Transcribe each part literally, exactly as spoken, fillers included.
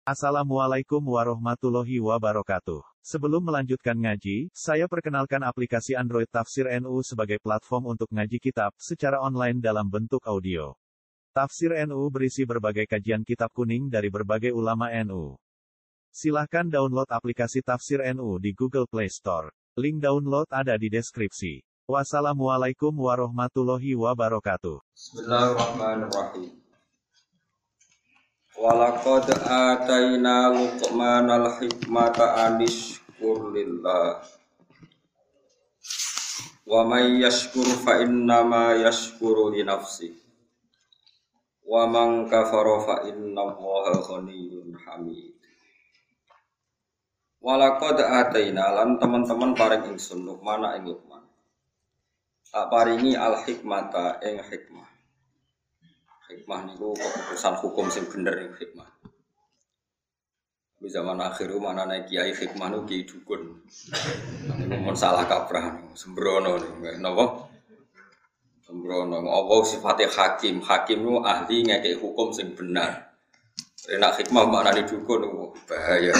Assalamualaikum warahmatullahi wabarakatuh. Sebelum melanjutkan ngaji, saya perkenalkan aplikasi Android Tafsir N U sebagai platform untuk ngaji kitab secara online dalam bentuk audio. Tafsir N U berisi berbagai kajian kitab kuning dari berbagai ulama N U. Silahkan download aplikasi Tafsir N U di Google Play Store. Link download ada di deskripsi. Wassalamualaikum warahmatullahi wabarakatuh. Bismillahirrahmanirrahim. Walaqad ataina Luqmanal hikmata anishkur lillah. Wa may yashkur fa innama yashkuru li nafsihi. Wa man kafara fa innallaha ghaniyyun hamid. Walaqad ataina lan teman-teman paring ingsun Luqman ing Luqman. Tak paringi al hikmata ing hikmah. Hikmah niku keputusan hukum sing bener ning hikmah. Di zaman akhir mana nek kiai hikmah niku kiai dukun. Niku mun salah kaprah niku sembrono niku napa? Sembrono apa sifate hakim? Hakim niku ahli ngekek hukum sing benar. Nek hikmah maknane dukun niku bahaya.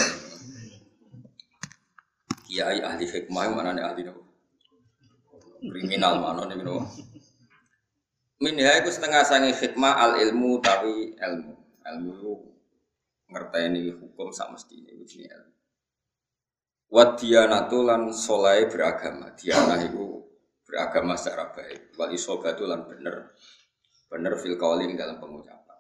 Kiai ahli hikmah maknane ahli niku kriminal maknane niku. Minha iku setengah sangi hikmah al ilmu tapi ilmu. Ilmu itu ngerteni hukum sak mestine iku jenenge ilmu. Wa diyanatu lan saleh beragama. Diyanah iku beragama secara baik. Wal isobatu lan bener. Bener fil qaulin dalam pengucapan.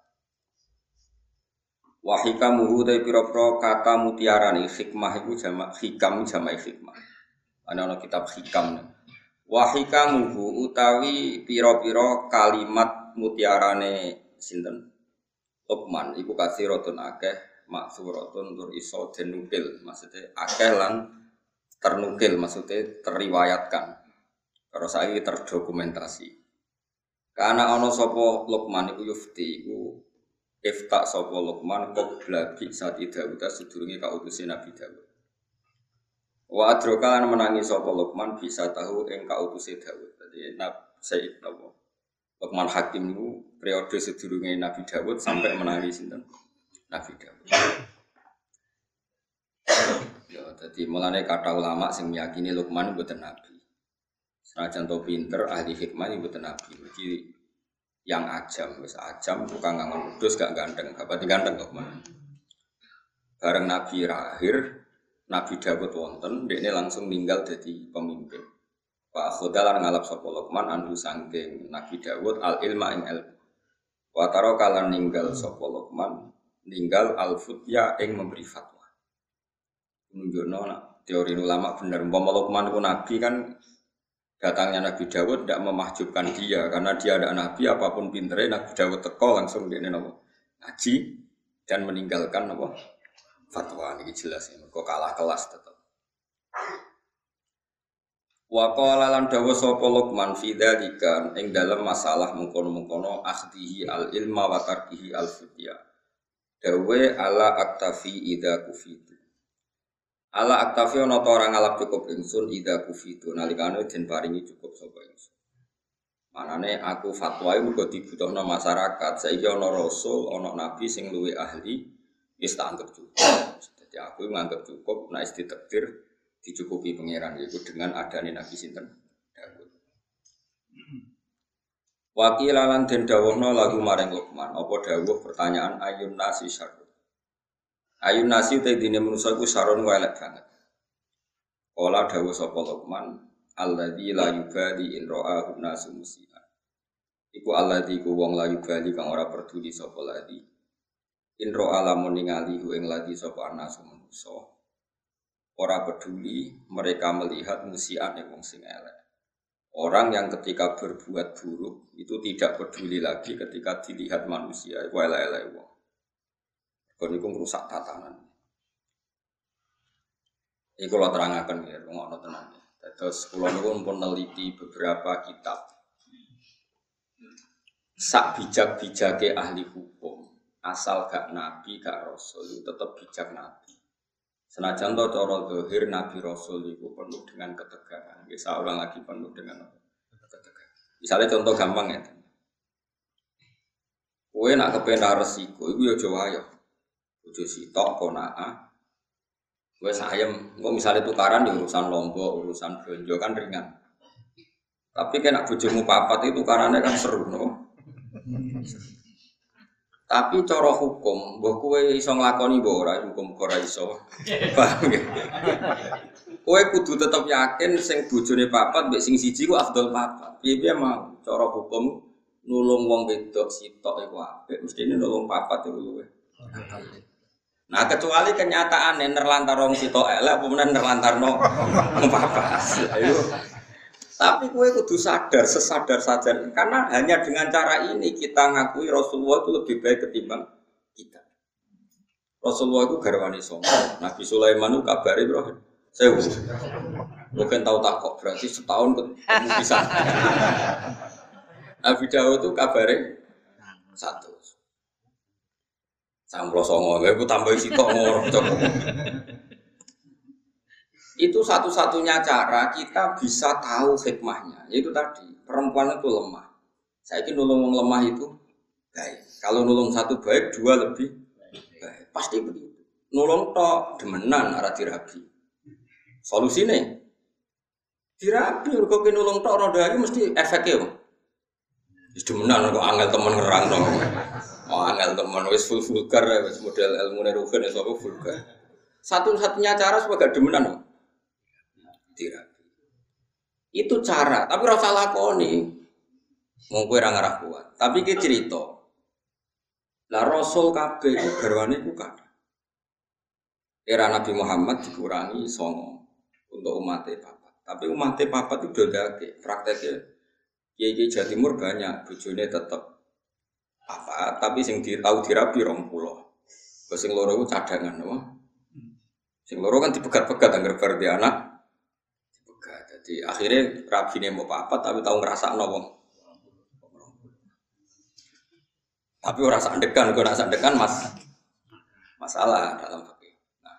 Wa hikamuhu ta pira-pira kata mutiarane hikmah iku jamak hikam jamak hikmah. Ana ana kitab hikam. Wahikamuhu utawi piro-piro kalimat mutiarane sinten Luqman iku kathiratun akeh maksuratun tur iso denukil maksudnya akeh lan ternukil maksudnya teriwayatkan terus saiki terdokumentasi karena ana sapa Luqman iku yufti iku ifta sapa Luqman qabla bi sati Daud sedurunge kautuse Nabi Daud. Wa adroka lan menangi sapa Luqman bisa tahu ing kautuse Daud. Dadi Nabi Sayyid napa Luqman Hakim niku periode sedurunge Nabi Daud sampai menangi sinten Nabi Daud. Ya dadi mulane kata ulama sing meyakini Luqman mboten nabi. Senajan to pinter ahli hikmah mboten nabi. Iki yang ajam wis ajam tukang ngangon wedhus gak ganteng, gak pati ganteng Luqman. Bareng Nabi lahir Nabi Dawud wonten, dekne langsung ninggal jadi pemimpin. Pak Khodalan ngalap sapa Luqman andu sangking Nabi Dawud al ilma ing ilmu. Wa taro kalan ninggal sapa Luqman ninggal al futya ing memberi fatwa. Nunjukno nak teori ulama bener umpama Luqman itu nabi kan datangnya Nabi Dawud tidak memahjubkan dia karena dia ada nabi apapun pintere Nabi Dawud teko langsung dekne napa ngaji dan meninggalkan apa fatwa ini jelas ya, kok kalah kelas tetap. Wa qala lan dawu sapa Luqman fi dzalika ing dalam masalah mengkono-mengkono akhdihi al ilma wa tarkihi al fitya. Dawe ala aktafi idza kufitu. Ala aktafi ana ta ora ngalap cukup ingsun idza kufitu nalikane den paringi cukup sapa ingsun. Manane aku fatwa iku mergo dibutuhno masyarakat, saiki ana rasul, ana nabi sing luwih ahli wis tak anggap cukup. Jadi aku menganggap cukup nek ditakdir dicukupi pangeran yaitu dengan adane Nabi sinten Daud. Wakil lan den dawuhna lagu maring Luqman, apa dawuh pertanyaan ayun nasi syarr. Ayun nasi te dine manusa iku sarun elek banget. Kala dawuh sapa Luqman, alladzi la yubali in ra'ahu nasu musian. Iku alladzi ku wong la yubali kang ora peduli sapa ladi. Inro alamun ningali ing lagi sapa anasu manusa ora peduli mereka melihat musian wong sing elek. Orang yang ketika berbuat buruk itu tidak peduli lagi ketika dilihat manusia iku elek-elek wong. Kon iku ngrusak tatanan. Iku kula terangaken ya ngono tenan. Terus kula niku pun neliti beberapa kitab. Sak bijak-bijake ahli hukum asal gak nabi gak rasul itu tetap bijak nabi. Senajan to cara zahir nabi rasul itu penuh dengan ketegangan. Bisa orang lagi penuh dengan ketegangan. Misalnya contoh gampang ya. Kowe nak kepen resiko iku ya aja wayo. bojo sitok konaa. Wes ayem, kok misalnya tukaran di urusan lombok, urusan belanja kan ringan. Tapi kena bojomu papat itu tukarannya kan seru, no? Tapi cara hukum, mbah kowe iso nglakoni mbah ora, hukum ora iso. Paham nggih? Kowe kudu tetep yakin sing bojone papat mbek sing siji ku afdal papat. Piye-piye mau cara hukum nulung wong wedok sitok iku apik, mestine nulung papat iku luwih. Nah, kecuali kenyataane nerlantar wong sitok elek apa menen nerlantarno wong papat. Ayo. Tapi kowe kudu sadar, sesadar sadar karena hanya dengan cara ini kita ngakui Rasulullah itu lebih baik ketimbang kita. Rasulullah itu garwane sombong. Nabi Sulaiman itu kabare bro. Saya mungkin tahu tak kok berarti setahun ketemu bisa. Nabi Dawud itu kabare satu. Samplo songo, gue tambah sitok ngorok coba. Itu satu-satunya cara kita bisa tahu hikmahnya. Yaitu tadi, perempuan itu lemah. Saya ingin nulung yang lemah itu baik. Kalau nulung satu baik, dua lebih baik. Pasti begitu. Nulung tok demenan arah dirabi. Solusinya dirabi. Kalau kita nulung tok roda ini mesti efeknya. Demenan kok angel temen ngerang dong. Oh angel temen wis full vulgar ya, wis model ilmu nerugen ya, apa vulgar. Satu-satunya cara supaya gak demenan dong. Dirabi. Itu cara, tapi ora usah lakoni. Wong kowe ora ngarah kuat. Tapi ki cerita. Lah Rasul kabeh iku garwane iku kathah. Era Nabi Muhammad dikurangi songo untuk umatnya papat. Tapi umatnya papat itu dodake. Prakteknya kiai-kiai Jawa Timur banyak, bojone tetep papat, tapi sing di, tahu dirabi rong puluh. Sing loro iku cadangan, apa? Sing loro kan dipegat-pegat anggar bar di anak. Jadi akhirnya rabine mau papat tapi tahu ngerasa wong. Tapi ora sandekan, kok ora sandekan Mas. Masalah dalam fikih. Nah.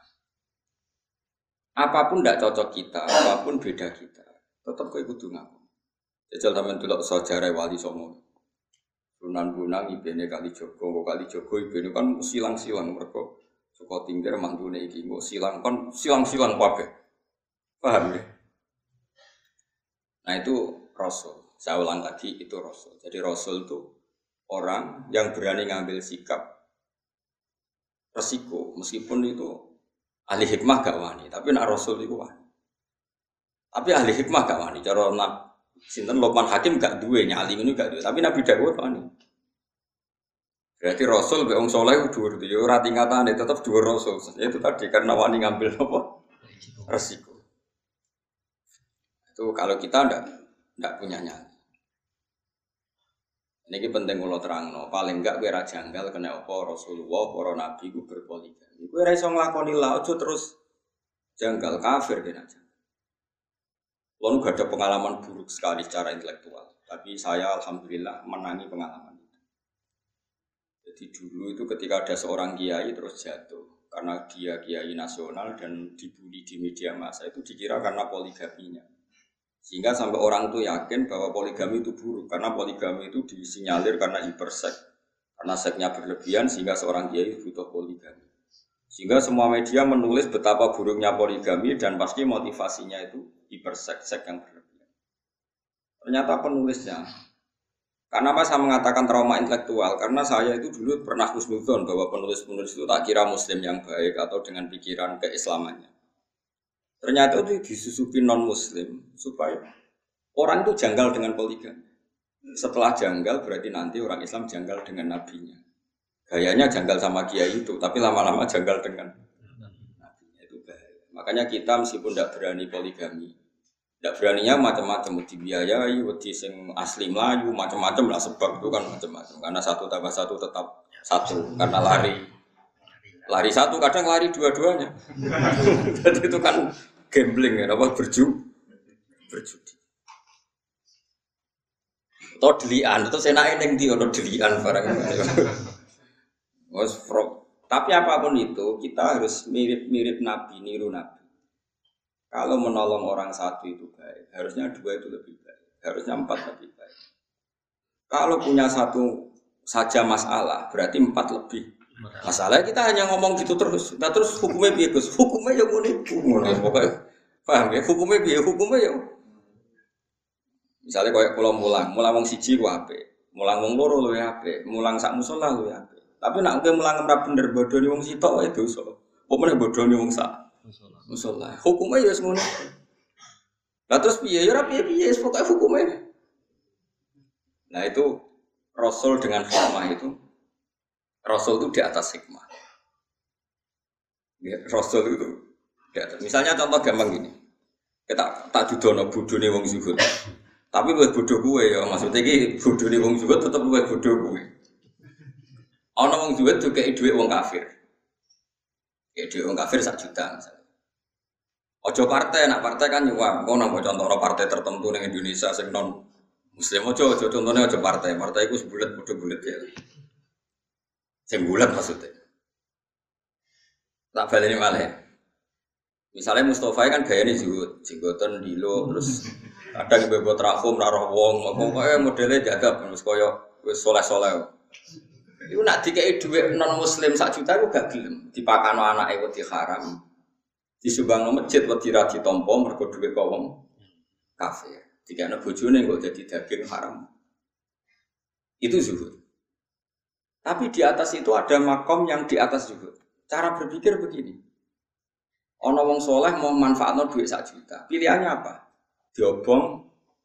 Apapun ndak cocok kita, apapun beda kita, tetap kowe kudu ngaku. Jajal sampean delok sejarah Wali Songo. Sunan Bonang ibene Kali Jogo, kok Kali Jogo ibene kan silang-silang mergo saka tingger mantune iki kok silang kan silang-silang kabeh. Paham ya? Nah itu Rasul, saya ulang lagi itu Rasul. Jadi Rasul itu orang yang berani ngambil sikap resiko, meskipun itu ahli hikmah gak wani, tapi nak Rasul itu wani. Tapi ahli hikmah gak wani, cara nak sinten Luqman Hakim gak duwe, nyali ini gak duwe, tapi Nabi Dawud wani. Berarti Rasul be wong saleh dhuwur yo ora tingkatane tetep dhuwur Rasul. Itu tadi karena wani ngambil apa? Resiko. Itu kalau kita ndak ndak punya nyali. Ini penting kalau terangno. Paling enggak kira janggal kena apa Rasulullah, para nabi ku berpoligami. Kowe ora iso nglakoni la ojo terus janggal kafir kena janggal. Lalu gak ada pengalaman buruk sekali secara intelektual. Tapi saya alhamdulillah menangi pengalaman itu. Jadi dulu itu ketika ada seorang kiai terus jatuh karena dia kiai nasional dan dibully di media massa itu dikira karena poligaminya. Sehingga sampai orang itu yakin bahwa poligami itu buruk karena poligami itu disinyalir karena hiperseks, karena seksnya berlebihan sehingga seorang kiai butuh poligami. Sehingga semua media menulis betapa buruknya poligami dan pasti motivasinya itu hiperseks, seks yang berlebihan. Ternyata penulisnya, karena apa saya mengatakan trauma intelektual? Karena saya itu dulu pernah husnudzon bahwa penulis-penulis itu tak kira muslim yang baik atau dengan pikiran keislamannya. Ternyata itu disusupi non-muslim supaya orang itu janggal dengan poligami. Setelah janggal berarti nanti orang Islam janggal dengan nabinya. Gayanya janggal sama kiai itu, tapi lama-lama janggal dengan nabinya. Itu bahaya. Makanya kita meskipun tidak berani poligami, tidak beraninya macam-macam, dibiayai, wedi sing asli Melayu, macam-macam lah sebab itu kan macam-macam. Karena satu tambah satu tetap satu, karena lari. Lari satu, kadang lari dua-duanya. Jadi itu kan gambling ya, apa berju, berjudi. Atau delian, atau senaknya yang di atau delian barang. Tapi apapun itu, kita harus mirip-mirip Nabi, niru Nabi. Kalau menolong orang satu itu baik, harusnya dua itu lebih baik, harusnya empat lebih baik. Kalau punya satu saja masalah, berarti empat lebih Masalahnya kita hanya ngomong gitu terus. Nah terus hukumnya piye Gus? Hukumnya ya ngono iku ngono pokoknya. Paham ya? Hukumnya piye? Hukumnya ya. Misalnya koyo kula mulang, mulang wong siji ku apik. Mulang wong loro luwih apik, mulang sak musala luwih apik. Tapi nek kowe mulang ora bener bodoni wong sitok wae dosa. Apa meneh bodoni wong sak musala. Hukumnya ya wis ngono. Lah terus piye? Ya ora piye-piye, pokoke hukumnya. Nah itu Rasul dengan hikmah itu Rasul itu di atas hikmah. Ya, Rasul itu di atas. Misalnya contoh gampang gini. Kita tak judono bodone wong zuhud. Tapi luwih bodho kowe ya, maksudnya iki bodone wong zuhud tetep luwih bodho kowe. Ana wong zuhud dikeki dhuwit wong kafir. Ya dhuwit wong kafir sak juta misalnya. Ojo partai, nak partai kan nyuwak. Kok nang contoh partai tertentu ning Indonesia sing non Muslim ojo ojo contohnya ojo partai. Partai iku sebulet bodho bulet ya. Sing bulat maksudnya. Tak baleni malih. Misalnya Mustafa kan gayane zuhud, jenggoten dilo terus kadang bebot rakum ra roh wong, pokoke modele jagab terus kaya wis soleh-soleh. Iku nak dikeki dhuwit non muslim sak juta iku gak gelem, dipakano anake wedi haram. Disumbangno masjid wedi ra ditampa mergo dhuwit kok wong kafir. Dikene bojone kok dadi daging haram. Itu zuhud. Tapi di atas itu ada makom yang di atas zuhud. Cara berpikir begini. Ana wong soleh mau manfaatno duit sak juta. Pilihannya apa? Diobong.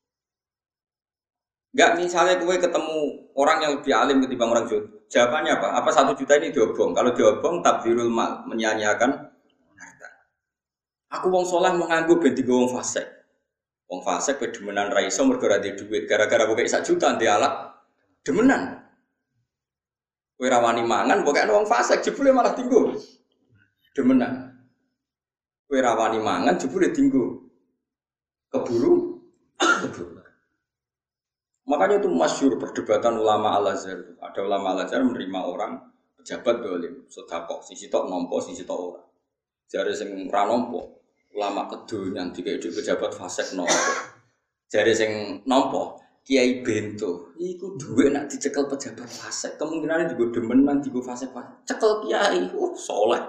Enggak misalnya kowe ketemu orang yang lebih alim ketimbang orang zuhud. Jawabannya apa? Apa satu juta ini diobong? Kalau diobong tabdzirul mal, menyia-nyiakan harta. Aku wong soleh mau nganggo ben digo wong fasik. Wong fasik pe demenan ra iso mergo ra duwe duit. Gara-gara kowe sak juta ndek alat demenan. Kowe ra wani mangan pokoke ana wong fasik jebule malah tinggu. Demenan. Kowe ra wani mangan jebule tinggu. Keburu keburu. Makanya itu masyhur perdebatan ulama Al-Azhar. Ada ulama Al-Azhar menerima orang pejabat dolim, sedekah, sisi tok nampa, sisi tok ora. Jare sing ra nampa, ulama kedonyan dikek pejabat fasik nampa. Jare sing nampa, Kiai Bento, iku dhuwit nak dicekel pejabat fasik, kemungkinane digo demenan digo fasik fasik. Cekel kiai, oh saleh.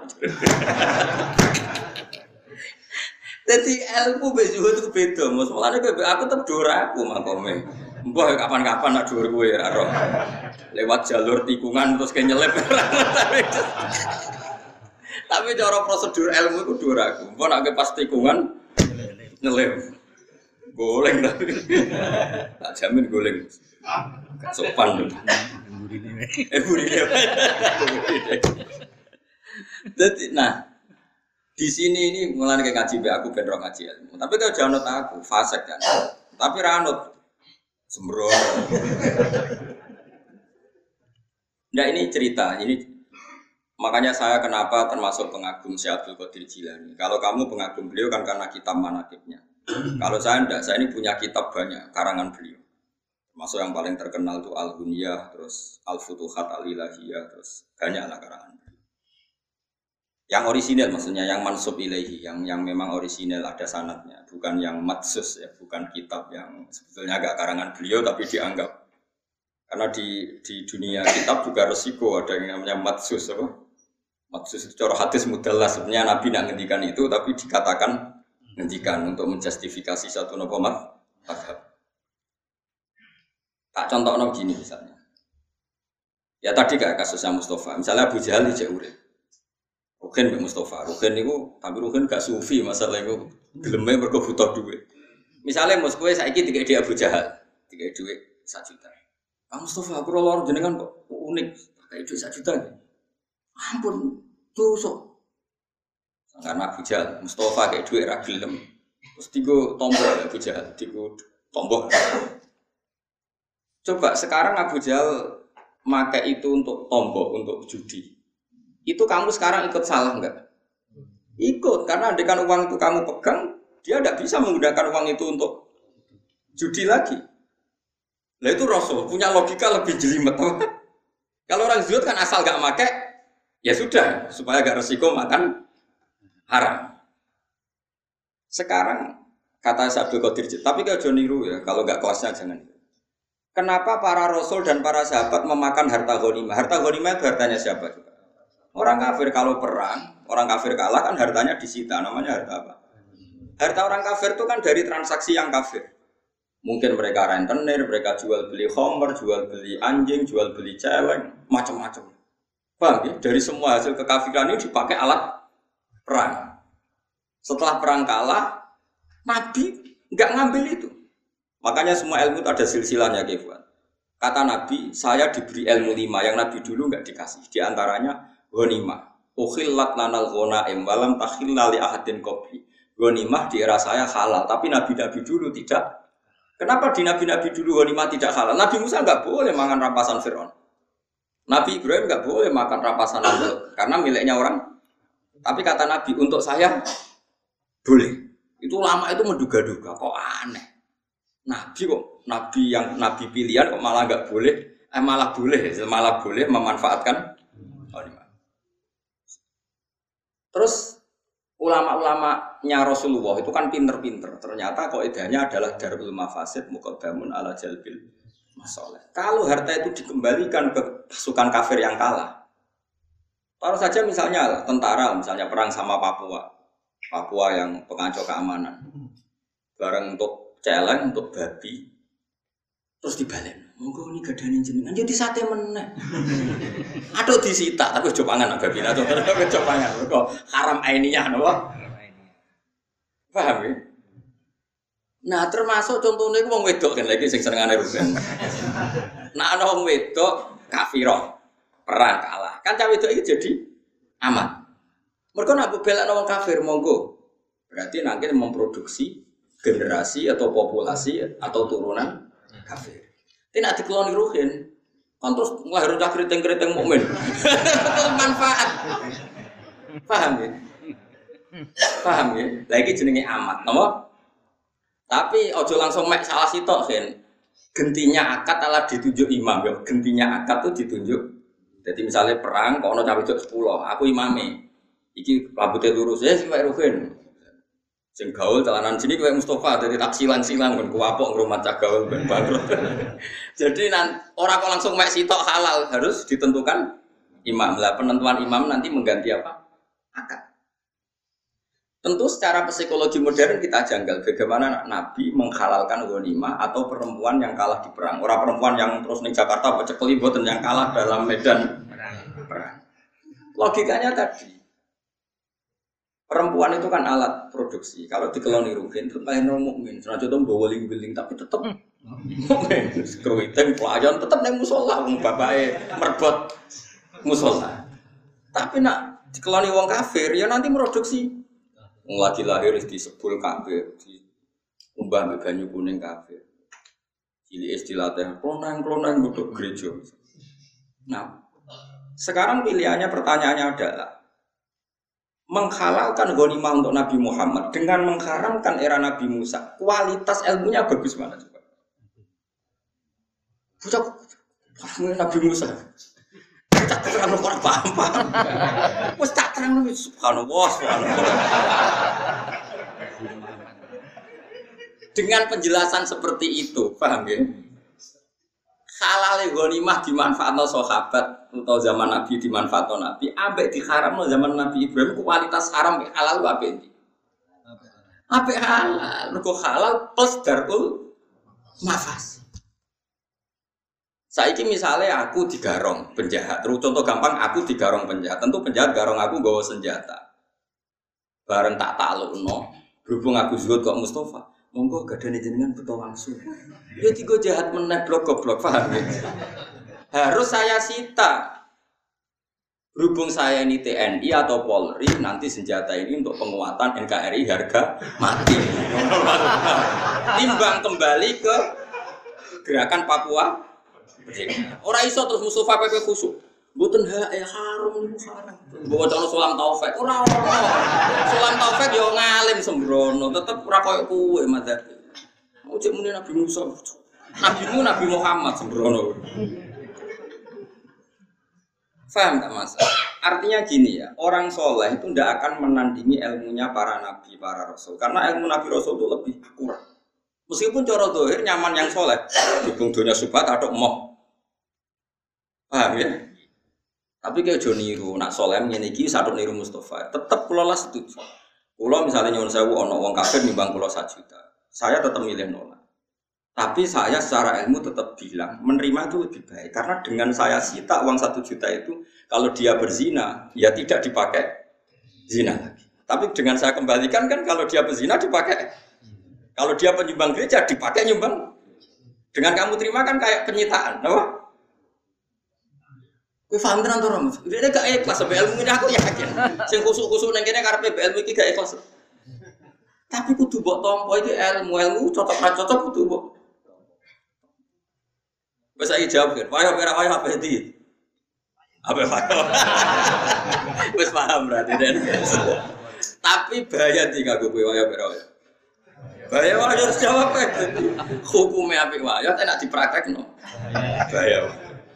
Dadi ilmu bejuhud itu beda, Mas. Mulane aku tetep dora aku makome. Mbah kapan-kapan nak dhuwur kowe ora roh. Lewat jalur tikungan terus ke nyelip. Tapi cara prosedur ilmu iku dora aku. Mbah nak pas tikungan nyelip. Goleng tapi. Tak jamin goleng. Gak sopan. Eh burine. Dadi nah di sini ini mulai kayak ngaji be aku benrok ngaji ilmu. Tapi kalau jangan aku fasik kan. Tapi ranut sembrono. Nah ini cerita ini makanya saya kenapa termasuk pengagum Syekh Abdul Qadir Jilani. Kalau kamu pengagum beliau kan karena kitab manaqibnya. Kalau saya enggak, saya ini punya kitab banyak karangan beliau. Termasuk yang paling terkenal itu Al-Ghunyah, terus Al-Futuhat Al-Ilahiyah, terus banyaklah karangan. Yang orisinal maksudnya yang mansub ilaihi, yang yang memang orisinal ada sanadnya, bukan yang matsus ya, bukan kitab yang sebetulnya agak karangan beliau tapi dianggap. Karena di di dunia kitab juga resiko ada yang namanya matsus apa? Matsus itu cara hadis mudallas, sebenarnya Nabi nak ngendikan itu tapi dikatakan ngendikan untuk menjustifikasi satu nopo mazhab. Tak contohno begini misalnya. Ya tadi kayak kasusnya Mustafa, misalnya Abu Jahal dijak urip. Ruhin Mbak Mustafa, Ruhin itu, tapi Ruhin gak sufi masalah itu gelemnya mergo butuh duit. Misalnya Mus kowe saiki dikek di Abu Jahal, dikek duit satu juta. Ah Mustafa, aku lor jenengan kok unik, pakai duit satu juta. Ampun, tusuk. Karena Abu Jahal, Mustafa kayak duit ra gelem. Terus digo tombol Abu Jahal, digo tombol. Coba sekarang Abu Jahal pakai itu untuk tombol, untuk judi. Itu kamu sekarang ikut salah enggak? Ikut, karena andaikan uang itu kamu pegang, dia tidak bisa menggunakan uang itu untuk judi lagi. Lah itu Rasul punya logika lebih jelimet. Kalau orang zuhud kan asal enggak make, ya sudah, supaya enggak resiko makan haram. Sekarang kata Abdul Qadir, tapi kalau jangan niru ya, kalau enggak kelasnya jangan. Kenapa para Rasul dan para sahabat memakan harta ghanimah? Harta ghanimah itu hartanya siapa juga? Orang kafir kalau perang, orang kafir kalah kan hartanya disita, namanya harta apa? Harta orang kafir itu kan dari transaksi yang kafir. Mungkin mereka rentenir, mereka jual beli homer, jual beli anjing, jual beli celeng, macam-macam. Paham ya? Dari semua hasil kekafiran ini dipakai alat perang. Setelah perang kalah, Nabi nggak ngambil itu. Makanya semua ilmu itu ada silsilahnya, Kefwan. Kata Nabi, saya diberi ilmu lima yang Nabi dulu nggak dikasih. Di antaranya ghanimah. Ukhillat lanal ghanaim walam takhilla li ahadin qabli. Ghanimah di era saya halal, tapi nabi-nabi dulu tidak. Kenapa di nabi-nabi dulu ghanimah tidak halal? Nabi Musa nggak boleh makan rampasan Firaun. Nabi Ibrahim nggak boleh makan rampasan Namrud karena miliknya orang. Tapi kata Nabi, untuk saya boleh. Itu lama itu menduga-duga, kok aneh. Nabi kok, Nabi yang Nabi pilihan kok malah nggak boleh, eh malah boleh, malah boleh memanfaatkan. Terus ulama-ulamanya Rasulullah itu kan pinter-pinter. Ternyata kaidahnya adalah darul mafasid muqaddamun ala jalbil masalih. Kalau harta itu dikembalikan ke pasukan kafir yang kalah. Taruh saja misalnya tentara, misalnya perang sama Papua. Papua yang pengacau keamanan. Barang untuk celeng, untuk babi. Terus dibalik. Monggo ini gadane jenengan jadi sate meneh. Aduh disita tapi coba pangan babi atau coba pangan. Kok haram ainiyah napa? Paham ya? Nah, termasuk contohnya itu wong wedok kan lagi sing senengane rugen. Nah, ana wong wedok kafirah, perang kalah. Kan cah wedok iki jadi aman. Mergo nek belakno wong kafir monggo. Berarti nanti memproduksi generasi atau populasi atau turunan kafir. Tidak dikeloni ruhin, kan terus ngelahir cah keriting-keriting mukmin. Manfaat. Paham ya? Paham ya? Lagi jenenge amat, napa? Tapi ojo langsung mek salah sitok kan. Gentinya akad adalah ditunjuk imam ya. Gentinya akad itu ditunjuk. Jadi misalnya perang kok ono cah wedok sepuluh, aku imame. Iki rambutnya lurus ya sing mek ruhin. Sing gaul calanan sini kayak Mustafa dari taksilan silang ben kuapok ngrumat cah gaul ben bangkrut. Jadi nan ora kok langsung mek sitok halal, harus ditentukan imam. Lah penentuan imam nanti mengganti apa? Akad. Tentu secara psikologi modern kita janggal bagaimana Nabi menghalalkan ghanimah atau perempuan yang kalah di perang. Orang perempuan yang terus ning Jakarta pecekeli mboten yang kalah dalam medan perang. Logikanya tadi perempuan itu kan alat produksi. Kalau dikeloni ruhin, tetap lahir mukmin. Senajan itu bawa ling-ling, tapi tetap mukmin. Kruiting pelayan tetap neng musola, bapaknya merbot musola. Tapi nak dikeloni wong kafir, ya nanti produksi. Wong lagi lahir di sepul kafir, di umbah banyu kuning kafir. Cili istilahnya klonang-klonang untuk gereja. Nah, sekarang pilihannya pertanyaannya adalah menghalalkan ghanimah untuk Nabi Muhammad dengan mengharamkan era Nabi Musa. Kualitas ilmunya bagus mana coba? Bocah Nabi Musa. Tak terang orang paham-paham. Wes tak terang subhanallah subhanallah. Dengan penjelasan seperti itu, paham ya? Halal ghanimah dimanfaatkan sahabat atau zaman Nabi dimanfaatkan Nabi, ambek diharamno zaman Nabi Ibrahim kualitas haram halal apa ini? Apa halal? Mergo halal plus darul mafas. Saiki misalnya aku digarong penjahat, terus contoh gampang aku digarong penjahat, tentu penjahat garong aku nggawa senjata. Bareng tak taklukno, berhubung aku zuhud kok Mustafa, monggo gadane jenengan beto langsung. Ya tiga jahat meneh blok-blok paham ya? Harus saya sita. Berhubung saya ini T N I atau Polri, nanti senjata ini untuk penguatan N K R I harga mati. Timbang kembali ke gerakan Papua. Ora iso terus Mustafa P P khusuk. Mboten hak ya haram niku haram. Mbok ana Sulam Taufik. Ora ora. Sulam Taufik yo ngalim sembrono, tetep ora koyo kowe madzhab. Ujug muni Nabi Musa. Nabimu Nabi Muhammad sembrono. Faham tak Mas? Artinya gini ya, orang soleh itu tidak akan menandingi ilmunya para nabi, para rasul. Karena ilmu nabi rasul itu lebih akurat. Meskipun cara dohir nyaman yang soleh, dukung dunia subhat atau emoh. Paham ya? Tapi kayak ojo niru, nak solem ngene iki sadok niru Mustafa. Tetep kula lah setuju. Kula misalnya nyuwun sewu ana wong kafir nimbang kula satu juta. Saya tetap milih nolak. Tapi saya secara ilmu tetap bilang menerima itu lebih baik karena dengan saya sita uang satu juta itu kalau dia berzina ya tidak dipakai zina lagi. Tapi dengan saya kembalikan kan kalau dia berzina dipakai. Kalau dia penyumbang gereja dipakai nyumbang. Dengan kamu terima kan kayak penyitaan, apa? Kowe paham tenan to, Rom? Dene gak ikhlas sampe ilmu ini aku yakin. Sing kusuk-kusuk nang kene karepe ilmu iki gak ikhlas. Tapi kudu mbok tampa iki ilmu, ilmu cocok ra cocok kudu mbok. Wes saiki jawab kan. Wayo ora wayo apa iki? Apa wayo? Wes paham berarti Den. Tapi bahaya iki kanggo kowe wayo ora wayo. Bahaya wayo harus jawab ae. Hukume apik wayo tak dipraktekno. Bahaya.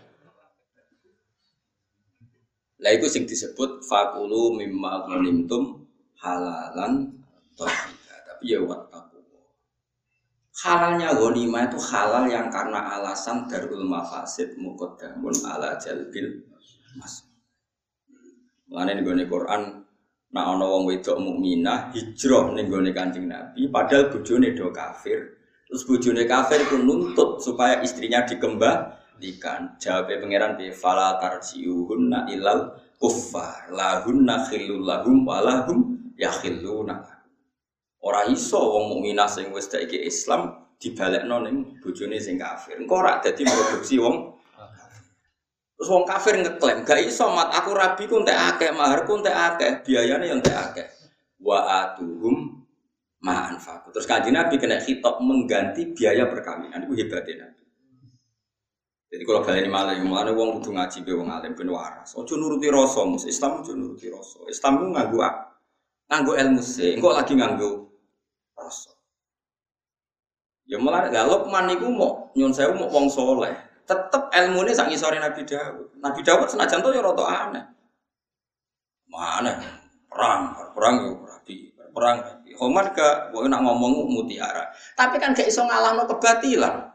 Lah iku sing disebut fakulu mimma ghanimtum halalan thayyiba. Tapi ya wattaqu. Halalnya ghanimah itu halal yang karena alasan darul mafasid muqaddamun ala jalbil mas. Mulane ning Quran nek ana wong wedok mukminah hijrah ning gone Kanjeng Nabi padahal bojone do kafir. Terus bojone kafir itu nuntut supaya istrinya dikembang ikan jawabe pangeran bi fala tarjiuhunna ilal kuffar lahunna khillul lahum walahum yakhilluna ora iso wong mukminah sing wis saiki Islam dibalekno ning bojone sing kafir engko ora dadi produksi wong terus wong kafir ngeklaim gak iso mat aku rabi ku entek akeh maharku entek akeh biayane yo entek akeh wa atuhum ma anfaqu terus Kanjeng Nabi kena khitab mengganti biaya perkawinan iku hebatnya Nabi. Jadi kalau kalian ini malah, mulanya wong kudu ngaji be wong alim ben waras. Ojo nuruti rasa, mus Islam ojo nuruti rasa. Islam ku nganggo nganggo ilmu sih, engko lagi nganggo rasa. Ya mulane lha Luqman niku mau nyun sewu mau wong saleh. Tetep ilmune sak ngisore Nabi Daud. Nabi Daud senajan to ya rada aneh. Mana perang, perang yo rapi, perang rapi. Homar gak kowe nak ngomong mutiara. Tapi kan gak iso ngalahno kebatilan.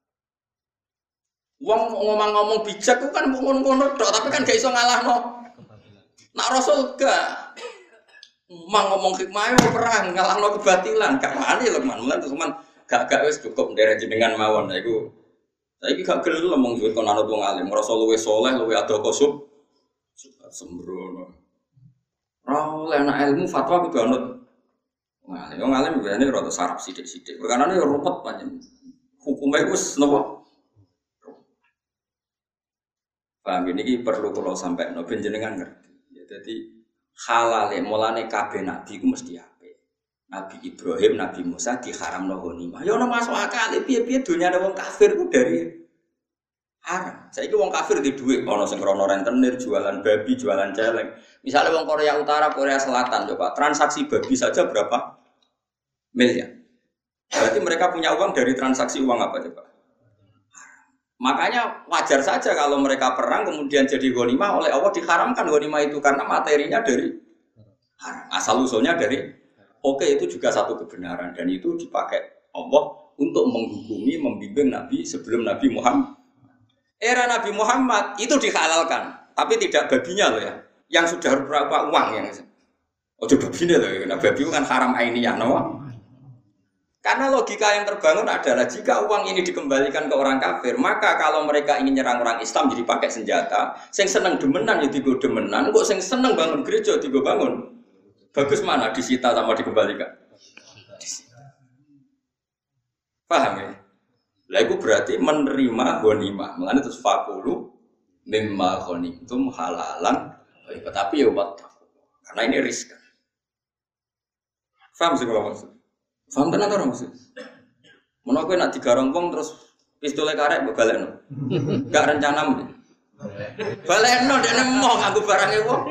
Wong ngomong-ngomong bijak ku kan ngono-ngono tok, tapi kan gak iso ngalahno. Nak Rasul gak. Mang ngomong hikmah yo perang ngalahno kebatilan, gak wani lho man. Mulan cuman gak-gak wis cukup nderek jenengan mawon. Nah iku saiki gak gelem ngomong duwe kon anut wong alim. Rasul luwih saleh, luwih ado kosub. Sembrono. Ora oleh ana ilmu fatwa kudu anut. Wong alim, wong alim biasane rada sarap sithik-sithik. Perkarane yo ruwet pancen. Hukume wis napa? Paham ini perlu kalau sampai no jenengan ngerti. Ya, jadi halale mulane kabeh nabi ku mesti apik. Nabi Ibrahim, Nabi Musa diharamno ghanimah. Ya ono masuk akal piye-piye dunyane wong kafir ku dari haram. Saiki wong kafir di dhuwit ana sing rono rentenir, jualan babi, jualan celeng. Misalnya wong Korea Utara, Korea Selatan coba transaksi babi saja berapa miliar. Berarti mereka punya uang dari transaksi uang apa coba? Makanya wajar saja kalau mereka perang kemudian jadi ghanimah oleh Allah diharamkan ghanimah itu karena materinya dari haram. Asal usulnya dari oke okay, itu juga satu kebenaran dan itu dipakai Allah untuk menghukumi membimbing Nabi sebelum Nabi Muhammad. Era Nabi Muhammad itu dihalalkan, tapi tidak babinya loh ya. Yang sudah berapa uang yang oh coba babinya loh ya. Nah, babi itu kan haram ainiyah, no? Karena logika yang terbangun adalah jika uang ini dikembalikan ke orang kafir, maka kalau mereka ingin nyerang orang Islam jadi pakai senjata, sing seneng demenan ya digo demenan, kok sing seneng bangun gereja digo bangun. Bagus mana disita sama dikembalikan? Disita. Paham ya? Lah itu berarti menerima ghanimah. Mulane terus fakulu mimma ghanimtum halalan, tapi ya wat. Karena ini riskan. Paham sih kalau maksud? Faham tenan ora maksud? Menawa kowe nak digarong wong terus pistole karek mbok balekno. Enggak rencanamu. Balekno dekne emoh nganggo barange wong.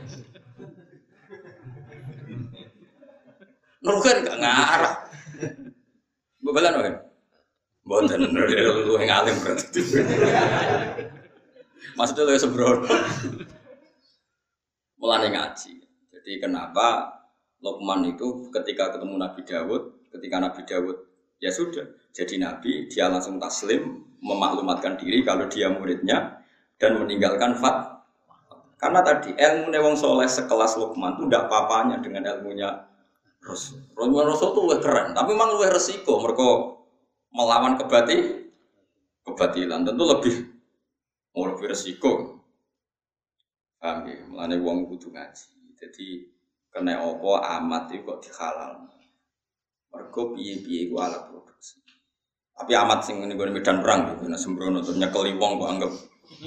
Nurukan enggak ngarah. Mbok balekno kan? Mboten luwih ngalim berarti. Maksudnya luwih sembrono. Mulane ngaji. Jadi kenapa Luqman itu ketika ketemu Nabi Daud, ketika Nabi Daud ya sudah jadi Nabi, dia langsung taslim, memaklumatkan diri kalau dia muridnya dan meninggalkan fat. Karena tadi ilmu wong soleh sekelas Luqman itu tidak apa-apanya dengan ilmunya Rasul. Rasul itu lebih keren, tapi memang lebih resiko. Mereka melawan kebati, kebatilan tentu lebih mau lebih resiko. Paham ya? Mulane wong kudu ngaji. Jadi kena opo amat itu kok dihalal. Mergo piye-piye iku alat produksi. Tapi amat sing ngene gone medan perang gitu, nek sembrono terus nyekeli wong kok anggap.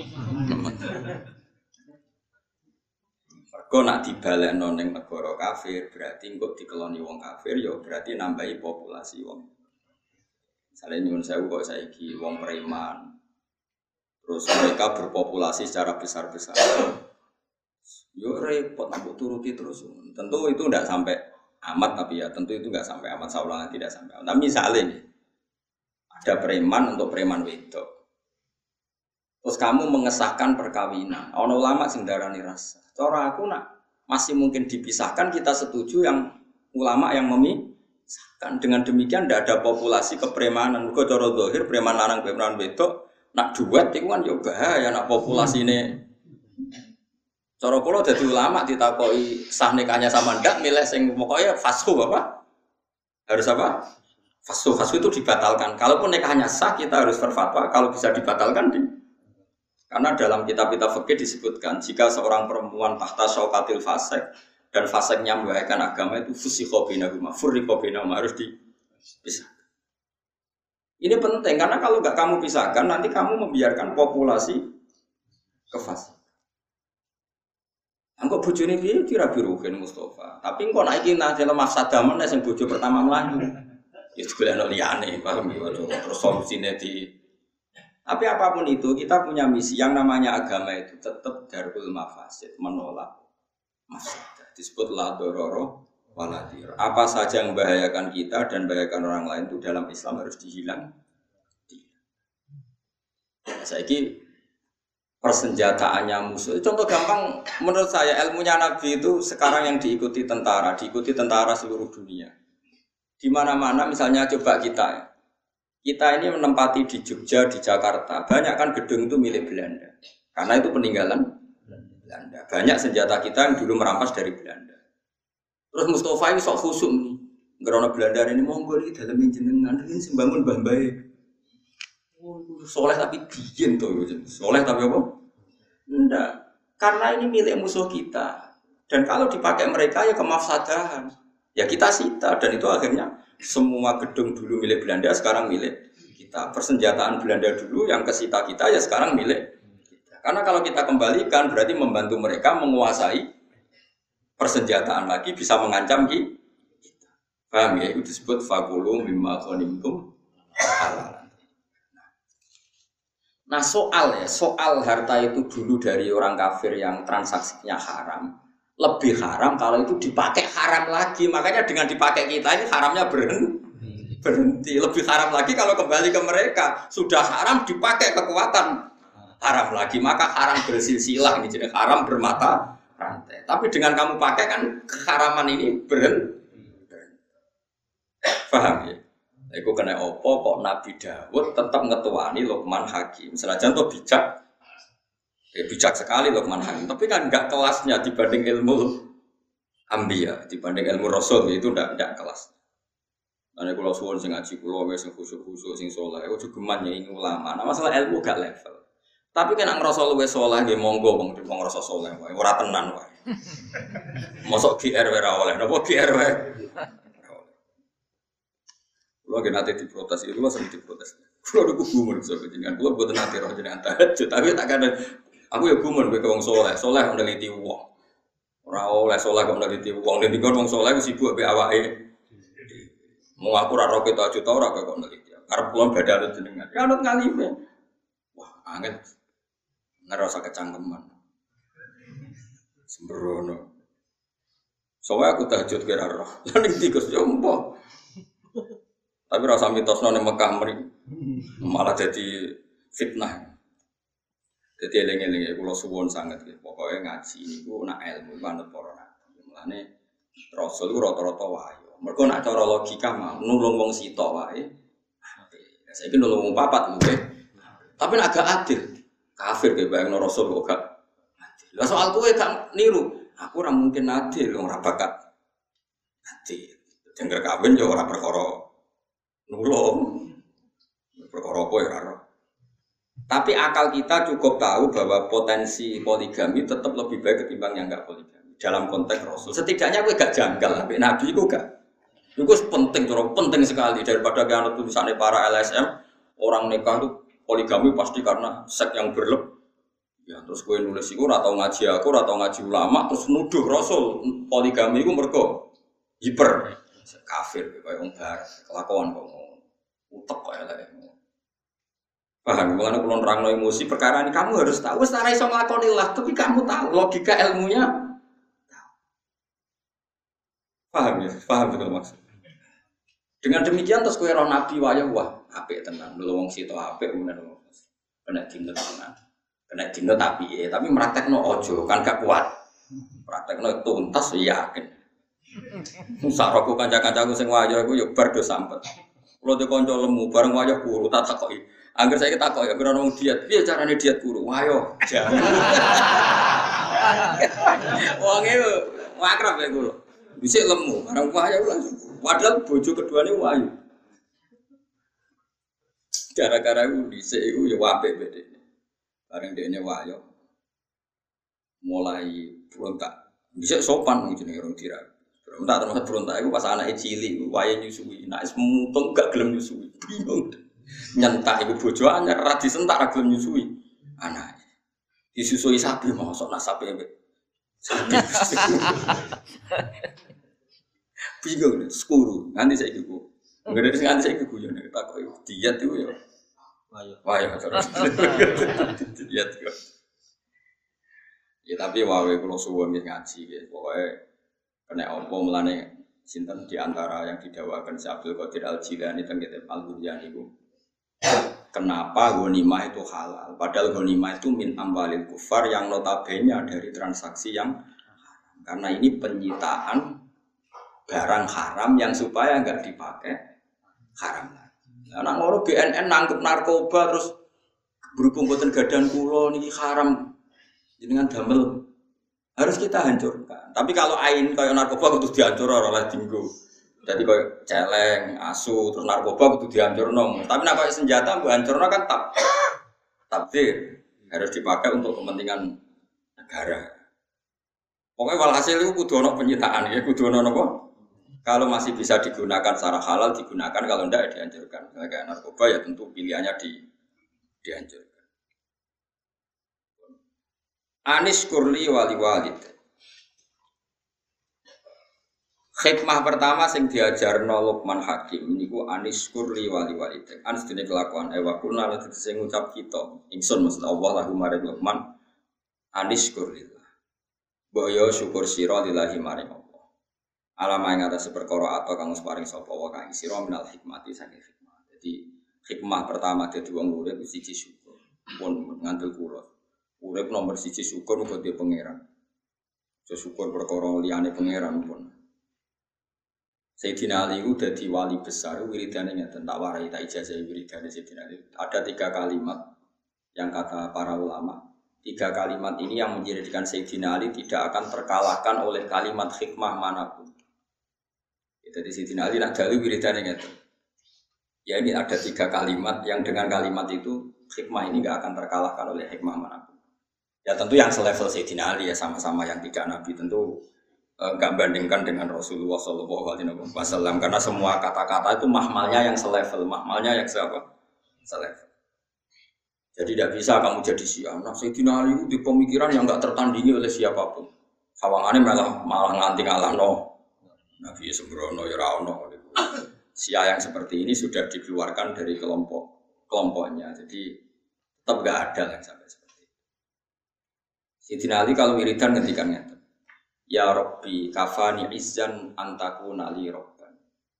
Mergo nak dibalekno ning negara kafir berarti engko dikeloni wong kafir ya berarti nambahi populasi wong. Misale nyuwun sewu kok saiki wong preman. Terus mereka berpopulasi secara besar-besar. Yo repot nak turuti terus. Tentu itu tidak sampai amat tapi ya tentu itu enggak sampai amat saulangan tidak sampai. Tapi misalnya nih, ada preman untuk preman wedok. Terus kamu mengesahkan perkawinan. Ono ulama sing darani rasa. Cara aku nak masih mungkin dipisahkan kita setuju yang ulama yang memisahkan. Dengan demikian tidak ada populasi kepremanan. Mergo cara zahir preman lanang preman wedok nak duet iku kan yo bahaya nak populasi ini. Cara kula dadi ulama ditakoki sah nikahnya sama ndak milih sing pokoknya fashu apa? Harus apa? Fashu fashu itu dibatalkan. Kalaupun nikahnya sah kita harus berfatwa kalau bisa dibatalkan di. Karena dalam kitab-kitab fikih disebutkan jika seorang perempuan tahta syaukatil fasik dan fasiknya membahayakan agama itu fusikha bainahuma furriqa bainahuma harus dipisahkan. Ini penting karena kalau enggak kamu pisahkan nanti kamu membiarkan populasi kefasik. Engko bojone piye kira biruken Mustafa. Tapi engko nek iki nang dalam mafsadah men sing bojo pertama mlayu. Ya golekno liyane, paham ya terus solusine di. Tapi apapun itu kita punya misi yang namanya agama itu tetap darul mafasid, menolak mafsadah. Disebut la dororo waladir. Apa saja yang membahayakan kita dan membahayakan orang lain itu dalam Islam harus dihilang. Saiki persenjataannya musuh. Contoh gampang menurut saya ilmunya Nabi itu sekarang yang diikuti tentara, diikuti tentara seluruh dunia. Di mana-mana misalnya coba kita, kita ini menempati di Jogja, di Jakarta, banyak kan gedung itu milik Belanda. Karena itu peninggalan Belanda. Banyak senjata kita yang dulu merampas dari Belanda. Terus Mustafa ini sok khusyuk nih. Karena Belanda ini monggo iki dalem jenengan, ini sing bangun Mbah Mbae. Soleh tapi bikin tuh, soleh tapi apa? Enggak, karena ini milik musuh kita. Dan kalau dipakai mereka ya kemafsadahan. Ya kita sita dan itu akhirnya semua gedung dulu milik Belanda sekarang milik kita. Persenjataan Belanda dulu yang kesita kita ya sekarang milik kita. Karena kalau kita kembalikan berarti membantu mereka menguasai persenjataan lagi bisa mengancam kita. Paham ya? Itu disebut fakulu mimma ghanimtum halal. Nah soal ya, soal harta itu dulu dari orang kafir yang transaksinya haram lebih haram kalau itu dipakai haram lagi. Makanya dengan dipakai kita ini haramnya berhenti, berhenti. Lebih haram lagi kalau kembali ke mereka. Sudah haram dipakai kekuatan haram lagi. Maka haram bersilsilah, ini jadi haram bermata rantai. Tapi dengan kamu pakai kan keharaman ini berhenti. Paham ya? Iku kena opo kok Nabi Dawud tetap ngetuani Luqman Hakim. Senajan tuh bijak, ya bijak sekali Luqman Hakim. Tapi kan enggak kelasnya dibanding ilmu Ambiya, dibanding ilmu Rasul itu enggak enggak kelas. Ane kula suwun sing ngaji kula wis sing khusyuk-khusyuk sing saleh, ojo geman nyanyi ulama. Nah masalah ilmu gak level. Tapi kan nek ngrasa luwih saleh nggih monggo wong wong ngrasa saleh wae, ora tenan wae. Mosok G R ora oleh, napa G R wae. Kalau kita nanti diprotes itu, lo sering diprotes. Kalau ada gumun, soalnya jangan. Kalau buat nanti roh jangan tahajud. Tapi tak ada. Aku ya gumun, gue kewang soleh. Soleh meneliti uang. Orang oleh soleh kok meneliti uang. Dan tiga orang soleh gue sibuk be awake. Mau aku raro kita juta orang kok meneliti. Karena pulang beda ada jenengan. Ya anut ngalime. Wah, angin. Ngerasa kecangkeman. Sembrono. Soalnya aku tahajud kira roh. Lalu tikus jompo. Tapi rasa mitosno ning Mekah mri malah jadi fitnah. Jadi eling-eling kula suwun sanget nggih. Pokoke ngaji niku nak ilmu manut para nabi. Mulane Rasul ku rata-rata wayo. Mergo nak cara logika mah nulung wong sitok wae. Saiki nulung wong papat nggih. Tapi nak gak adil. Kafir ge bayangno Rasul kok gak adil. Lah soal kowe gak niru, aku ora mungkin adil ora bakat. Adil. Dengar kawin ya ora perkara nulung. Perkara apa ya ora. Tapi akal kita cukup tahu bahwa potensi poligami tetap lebih baik ketimbang yang enggak poligami. Dalam konteks Rasul. Setidaknya kowe gak janggal, sampai Nabi itu gak. Itu penting, penting sekali daripada kan tulisannya para L S M orang nikah itu poligami pasti karena seks yang berlebih. Ya, terus kowe nulis iku ora tau ngaji aku, ora tau ngaji ulama, terus nuduh Rasul poligami iku mergo hiper kafir kaya wong barat, kelakuan kok ngono. Utek kok elek. Paham, mulane kula nerangno emosi perkara ini kamu harus tahu wis ora iso nglakoni lah, tapi kamu tahu logika ilmunya. Paham ya? Paham betul maksud. Dengan demikian terus kowe ro nabi wayah wah, apik tenan. Lho wong sito apik menan. Kena dinut tenan. Kena dinut tapi eh tapi praktekno ojo kan gak kuat. Praktekno tuntas yakin. Sak roku kanca-kancaku sing wayah iku yo bar do sampet. Kulo de kanca lemu bareng wayah guru tak takoki. Angger saiki takok ya kira wong diet, piye carane diet guru? Wayo, jangan. Wong e akrab ya guru. Dhisik lemu, bareng wayo langsung. Padahal bojo keduane wayu. Gara-gara iku dhisik iku ya apik bedene. Bareng dekne wayo. Mulai berontak. Dhisik sopan wong jenenge rong dira. Berontak terus berontak iku pas anake cilik, wae nyusui. Nek wis mutung gak gelem nyusui. Bingung. Nyentak iku bojo anyar ra disentak ra gelem nyusui anake. Disusui sapi mosok nak sapi mbek. Bingung skuru nganti saiki ku. Nggak nganti saiki ku yo nek takoki diet iku yo. Wayo. Wayo terus. Diet kok. Ya tapi wae kula suwun ngaji nggih. Pokoke kena apa mulane sinten di antara yang didakwakan Syekh Abdul Qadir Al-Jilani teng kitab Al-Buryan iku. Kenapa ghanimah itu halal? Padahal ghanimah itu min amwalil kufar yang notabene dari transaksi yang haram. Karena ini penyitaan barang haram yang supaya enggak dipakai haram. Anak ngono B N N nangkep narkoba terus berhubung boten gadan kula niki haram. Jenengan damel harus kita hancurkan. Tapi kalau ain kaya narkoba kudu dihancur ora oleh dinggo. Jadi kau celeng, asu, terus narkoba itu dihancurno. Tapi nak kau senjata, bu hancurno kan tak, takdir harus dipakai untuk kepentingan negara. Pokoknya walhasil itu kudu ono penyitaan, ya kudu ono apa? Kalau masih bisa digunakan secara halal digunakan, kalau tidak ya dihancurkan. Misalnya kayak narkoba ya tentu pilihannya di dihancurkan. Anis kurli wali walid. Hikmah pertama sing diajarno Luqman Hakim niku anis kurli wali walidek. Anis dene kelakuan ewa kuna lan sing ngucap kita. Ingsun maksud Allah lahu maring Luqman anis kurlillah. Boyo syukur sira lillahi maring Allah. Alama ing atas perkara atau kang paring sapa wa kang sira minal hikmati saking hikmah. Jadi hikmah pertama dadi wong urip siji syukur. Pun ngandel kula. Urip nomor siji syukur muga dhewe pangeran. Jo syukur perkara liyane pangeran pun. Sayyidina Ali itu jadi wali besar, wiridannya ngeten tak warai tak ijazah wiridannya Sayyidina Ali. Ada tiga kalimat yang kata para ulama. Tiga kalimat ini yang menjadikan Sayyidina Ali tidak akan terkalahkan oleh kalimat hikmah manapun. Jadi Sayyidina Ali nak dalu wiridannya ngeten. Ya ini ada tiga kalimat yang dengan kalimat itu hikmah ini tidak akan terkalahkan oleh hikmah manapun. Ya tentu yang selevel Sayyidina Ali ya sama-sama yang tidak Nabi tentu. Enggak bandingkan dengan Rasulullah Shallallahu Alaihi Wasallam karena semua kata-kata itu mahmalnya yang selevel, mahmalnya yang siapa? Selevel. Jadi tidak bisa kamu jadi Syiah. Nah, Sayyidina Ali itu di pemikiran yang enggak tertandingi oleh siapapun. Sawangannya malah malah nganti ngalah no. Nabi sembrono ya rano. Syiah yang seperti ini sudah dikeluarkan dari kelompok kelompoknya. Jadi tetap enggak ada yang sampai seperti itu. Sayyidina Ali kalau wiridan ngendikannya ya Rabbi kafani izzan antakuna li rabban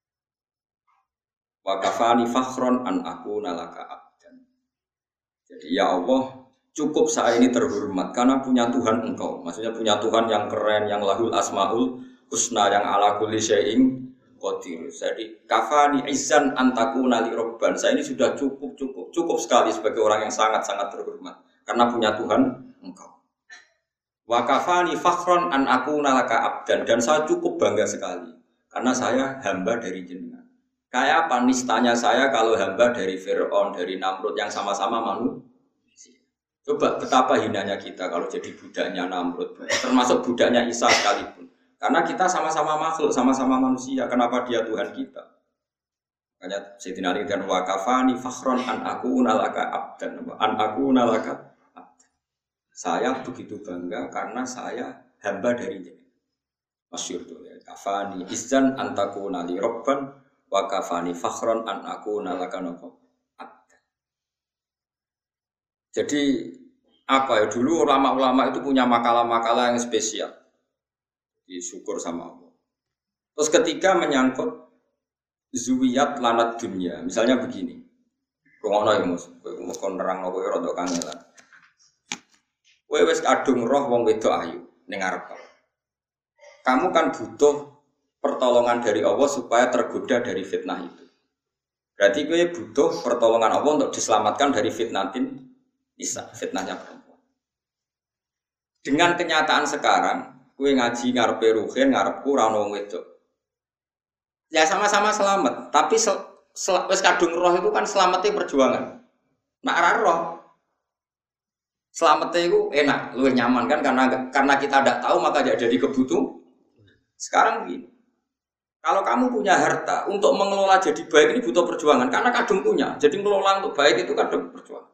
wa kafani fakhron an akuna laka abdan. Jadi ya Allah cukup saya ini terhormat karena punya Tuhan engkau. Maksudnya punya Tuhan yang keren, yang lahul asmaul husna, yang ala kulli syai'in qadir. Jadi kafani izzan antakuna li rabban. Saya ini sudah cukup cukup cukup sekali sebagai orang yang sangat-sangat terhormat karena punya Tuhan engkau. Wa kafani fakhron an akuna laka abdan, dan saya cukup bangga sekali karena saya hamba dari jenengan. Kayak apa nistanya saya kalau hamba dari Fir'aun, dari Namrud yang sama-sama manusia. Coba betapa hinanya kita kalau jadi budaknya Namrud, termasuk budaknya Isa sekalipun. Karena kita sama-sama makhluk, sama-sama manusia. Kenapa dia Tuhan kita? Makanya Sayyidina Ali kan wa kafani fakhron an akuna laka abdan, an akuna laka. Saya begitu bangga karena saya hamba dari dia. Masyhur tuh ya. Kafani izan antakuna li robban wa kafani fakhron an akuna laka abdan. Jadi apa ya, dulu ulama-ulama itu punya makalah-makalah yang spesial. Disyukur sama Allah. Terus ketika menyangkut zuwiyat lanat dunia, misalnya begini. Rungokno ya Mus, kowe kon nerangno kowe rada kangelan. Kowe wis kadung roh wong wedok ayu ning ngarep. Kamu kan butuh pertolongan dari Allah supaya tergoda dari fitnah itu. Berarti kowe butuh pertolongan Allah untuk diselamatkan dari fitnatin nisa, fitnahnya perempuan. Dengan kenyataan sekarang, kowe ngaji ngarepe ruhin, ngarepku ora ono wong wedok. Ya sama-sama selamat, tapi sel- sel- wis kadung roh itu kan selamatnya perjuangan. Nak ora roh selamatnya itu enak, lebih nyaman kan karena karena kita tidak tahu maka tidak jadi kebutuhan. Sekarang begini, kalau kamu punya harta untuk mengelola jadi baik ini butuh perjuangan karena kadung punya, jadi mengelola untuk baik itu kadung perjuangan.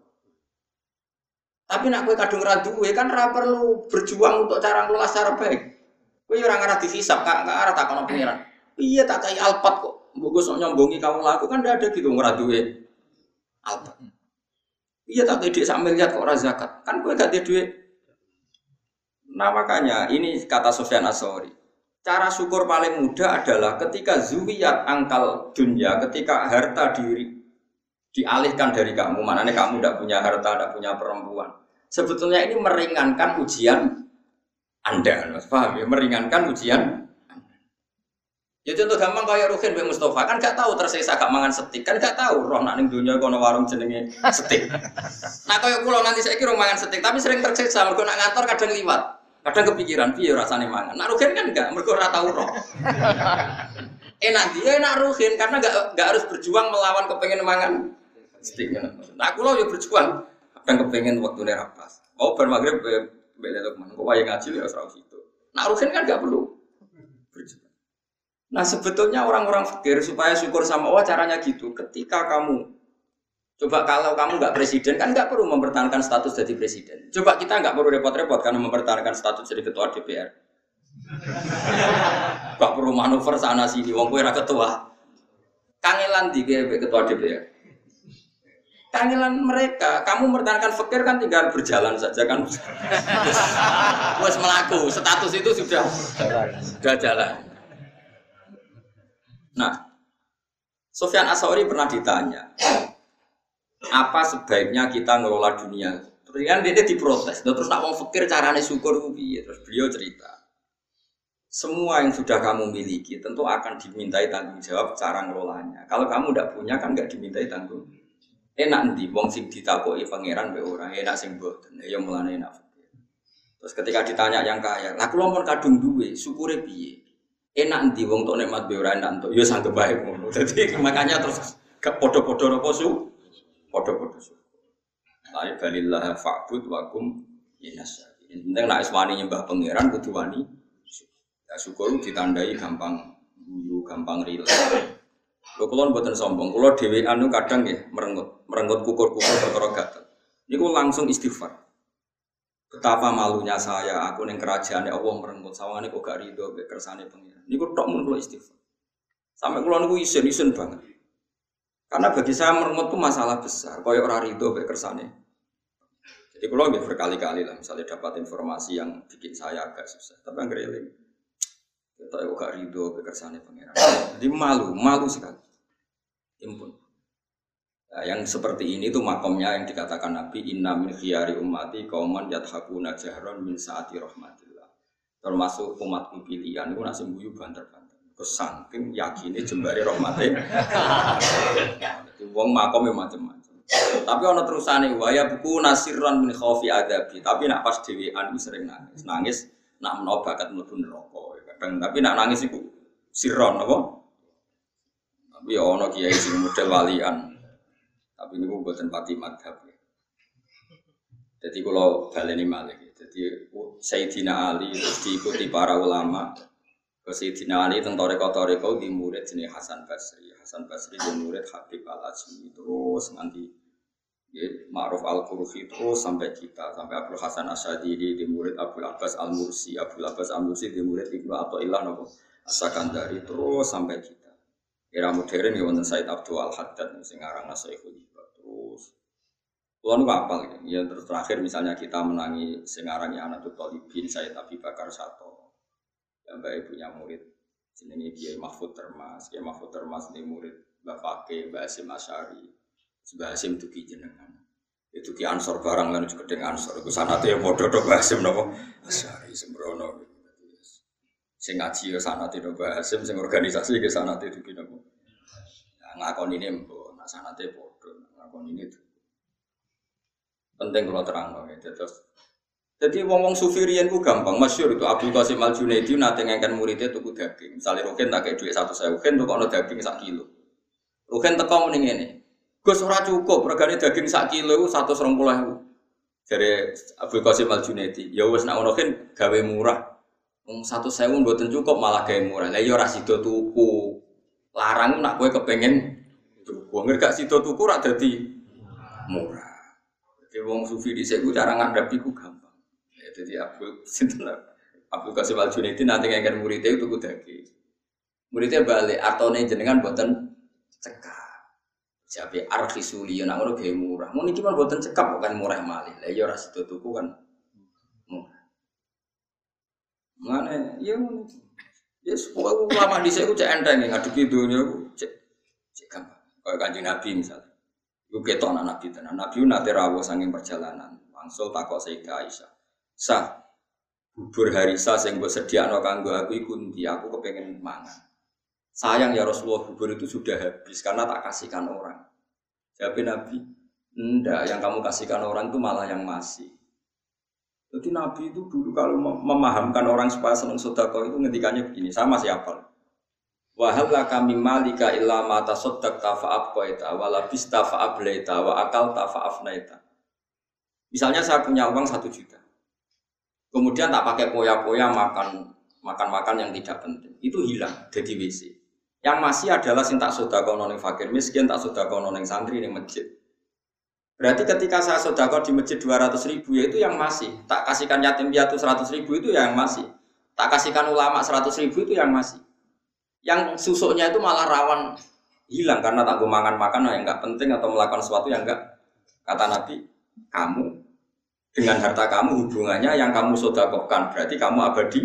Tapi nak kue kadung raduwe kan ora perlu berjuang untuk cara ngelola secara baik. Kue orang arah dihisap, kak nggak arah tak kono pengiran. Iya tak kayak alpat kok, bagus nyombongi kamu laku kan tidak ada gitu ngeraduwe alpat. Iya tak ide sambil lihat kok ora zakat. Kan kowe gak ada duit. Nah makanya ini kata Sufyan Ats-Tsauri. Cara syukur paling mudah adalah ketika zuwiyat angkal dunia, ketika harta diri dialihkan dari kamu, maknanya kamu tidak punya harta, tidak punya perempuan. Sebetulnya ini meringankan ujian Anda, paham ya? Meringankan ujian. Ya contoh gampang kayak Ruhin Mbak Mustafa kan gak tahu tersiksa gak mangan setik, kan gak tahu roh nak ning dunya kono warung jenenge setik. Nah kayak kula nanti saiki rong mangan setik tapi sering tersiksa mergo nak ngantor kadang liwat. Kadang kepikiran piye rasane mangan. Nak Ruhin kan enggak, mergo ora tahu roh. Enak dia enak Ruhin karena enggak enggak harus berjuang melawan kepengen mangan setik. Nah kula yo berjuang kadang kepengen waktune ra pas. Mau bar magrib mbek Lukman, kok wae ngaji ya ora situ. Nak Ruhin kan enggak perlu berjuang. Nah sebetulnya orang-orang fakir supaya syukur sama Allah caranya gitu. Ketika kamu coba kalau kamu nggak presiden kan nggak perlu mempertahankan status jadi presiden. Coba kita nggak perlu repot-repot karena mempertahankan status jadi ketua D P R. Gak perlu manuver sana sini. Wong kowe ra ketua. Kangelan di ketua D P R. Kangelan mereka. Kamu mempertahankan fakir kan tinggal berjalan saja kan. Wes melaku. Status itu sudah sudah jalan. Nah, Sufyan Ats-Tsauri pernah ditanya, apa sebaiknya kita ngelola dunia? Terus kan dia diprotes, terus nak mau fikir carane syukur piye? Terus beliau cerita, semua yang sudah kamu miliki tentu akan dimintai tanggung jawab cara ngelolanya. Kalau kamu tidak punya kan nggak dimintai tanggung. Enak ndi wong sing ditakoki pangeran be ora, enak sing mboten. Ya mulane enak. Terus ketika ditanya yang kaya, lah kula mun kadung duwe, syukure piye? Enak ndi wong tok nikmat be ora enak entuk ya sanggep bae ngono. Dadi makanya terus gak padha-padha napa su? Padha-padha su. La balillah fa'bud wa kum inasya. Penting nek wani nyembah pangeran kudu wani. Ya syukur ditandai gampang guyu, gampang rileks. Lho kula mboten sombong, kula dhewean nu kadang nggih merengut, merengut kukur-kukur perkara gatel. Niku langsung istighfar. Betapa malunya saya, aku ning kerajaan Allah merenggut sawangane kok gak rido mek kersane pengiran. Niku tok mun kula istighfar. Sampai kula niku isin-isin banget. Karena bagi saya merenggut itu masalah besar, koyo ora rido mek kersane. Jadi kula nggih berkali-kali lah misalnya dapat informasi yang bikin saya agak susah, tapi anggere eling. Ketok kok gak rido mek kersane pengiran. Jadi malu, malu sekali. Impun. Nah, yang seperti ini tuh makomnya yang dikatakan Nabi inna min khiyari ummati qauman yadhakuna jahran min saati rahmatillah. Termasuk umatku pilihan itu nasi guyu banter-banter. Kesangking yakine jembare rahmate. Wong makome macam-macam. Tapi ana terusane waya buku nasirran min khaufi adabi. Tapi nak pas dhewean iku sering nangis. Nangis nak menawa bakat mlebu neraka. Kadang tapi nak nangis iku sirron apa? Tapi ana kiai sing model walian. Tapi niku mboten pati madhab. Jadi kalau baleni malih. Jadi Sayyidina Ali terus diikuti para ulama. Ke Sayyidina Ali teng toreko-toreko di murid jenenge Hasan Basri. Hasan Basri di murid Habib Al-Ajmi terus nganti ya, Ma'ruf Al-Qurfi terus sampai kita sampai Abdul Hasan Asy'adili di murid Abdul Abbas Al-Mursi, Abdul Abbas Al-Mursi di murid Ibnu Athaillah napa As-Sakandari terus sampai kita. Era modern ya wonten Said Abdul Al-Haddad sing aran Syekhul Ibad terus. Kulo nu apal ya terus terakhir misalnya kita menangi sing aran Anatul Thalibin Said Abi Bakar Sato. Yang baik punya murid jenenge Kiai Mahfud Termas, Kiai Mahfud Termas ini murid Mbak Fakih, Mbak Hasim Asy'ari. Mbak Hasim dugi jenengan. Itu ki ansor barang lan juga dengan ansor. Iku sanate ya padha to Mbak Hasim napa? Asy'ari sembrono. Sing ngaji ya sanate to Mbak Hasim, sing organisasi ke sanate dugi napa? Nah, ngakoni ini mbok, nak sanate padha, ngakoni ini. Penting kalau terang ya. Terus jadi wong-wong sufi riyen ku gampang, masyhur itu Abdul Qasim Al-Junaidi nate ngengken muridé tuku daging. Misale Rukin tak kei dhuwit seratus ribu, Rukin tukokno daging sak kilo. Rukin teko muni ngene. Gus ora cukup, regane daging sak kilo iku seratus dua puluh ribu. Jare Abdul Qasim Al-Junaidi, ya wis nek ngono kan gawe murah. Wong seratus ribu mboten cukup malah gawe murah. Lah ya ora sida tuku. Larang nak kowe kepengin tuku. Ngger gak sida tuku ora dadi murah. Jadi wong sufi dhisik ku cara ngandhapi ku gampang. Jadi Abdul sinten Abdul Qasim Al-Junaidi nanti ngengken muridé tuku daging. Muridé balik artone jenengan mboten cekap. Jabe arkhisuli nek ngono gawe murah. Mun iki mah mboten cekap kok kan murah malih. Lah ya ora sida tuku kan murah. Mane ya ngono. Yes, pokoke ulama dhisik ku cek enteng ngadepi donya ku cek cek gampang. Kaya Kanjeng Nabi misalnya. Iku ketok anak Nabi tenan. Nabi nate rawuh saking perjalanan. Langsung takok Sayyidah Aisyah. Sah, bubur harisa sing mbok sediakno kanggo aku iku ndi aku kepengin mangan. Sayang ya Rasulullah bubur itu sudah habis karena tak kasihkan orang. Jawab Nabi, enggak, yang kamu kasihkan orang itu malah yang masih. Jadi Nabi itu dulu kalau memahamkan orang supaya senang sedekah itu ngendikannya begini, sama siapa? Wa hal laka mim malika illa ma tasaddaqta fa abqaita wa labista fa ablaita wa akalta fa afnaita. Misalnya saya punya uang satu juta. Kemudian tak pakai poya-poya makan makan-makan yang tidak penting. Itu hilang jadi W C. Yang masih adalah sing tak sedekahno ning fakir miskin, tak sedekahno ning santri ning masjid. Berarti ketika saya sedekah di masjid dua ratus ribu ya itu yang masih. Tak kasihkan yatim piatu seratus ribu itu yang masih. Tak kasihkan ulama seratus ribu itu yang masih. Yang susuknya itu malah rawan hilang karena tak gue makan-makan yang enggak penting atau melakukan sesuatu yang enggak. Kata Nabi, kamu dengan harta kamu hubungannya yang kamu sedekahkan berarti kamu abadi.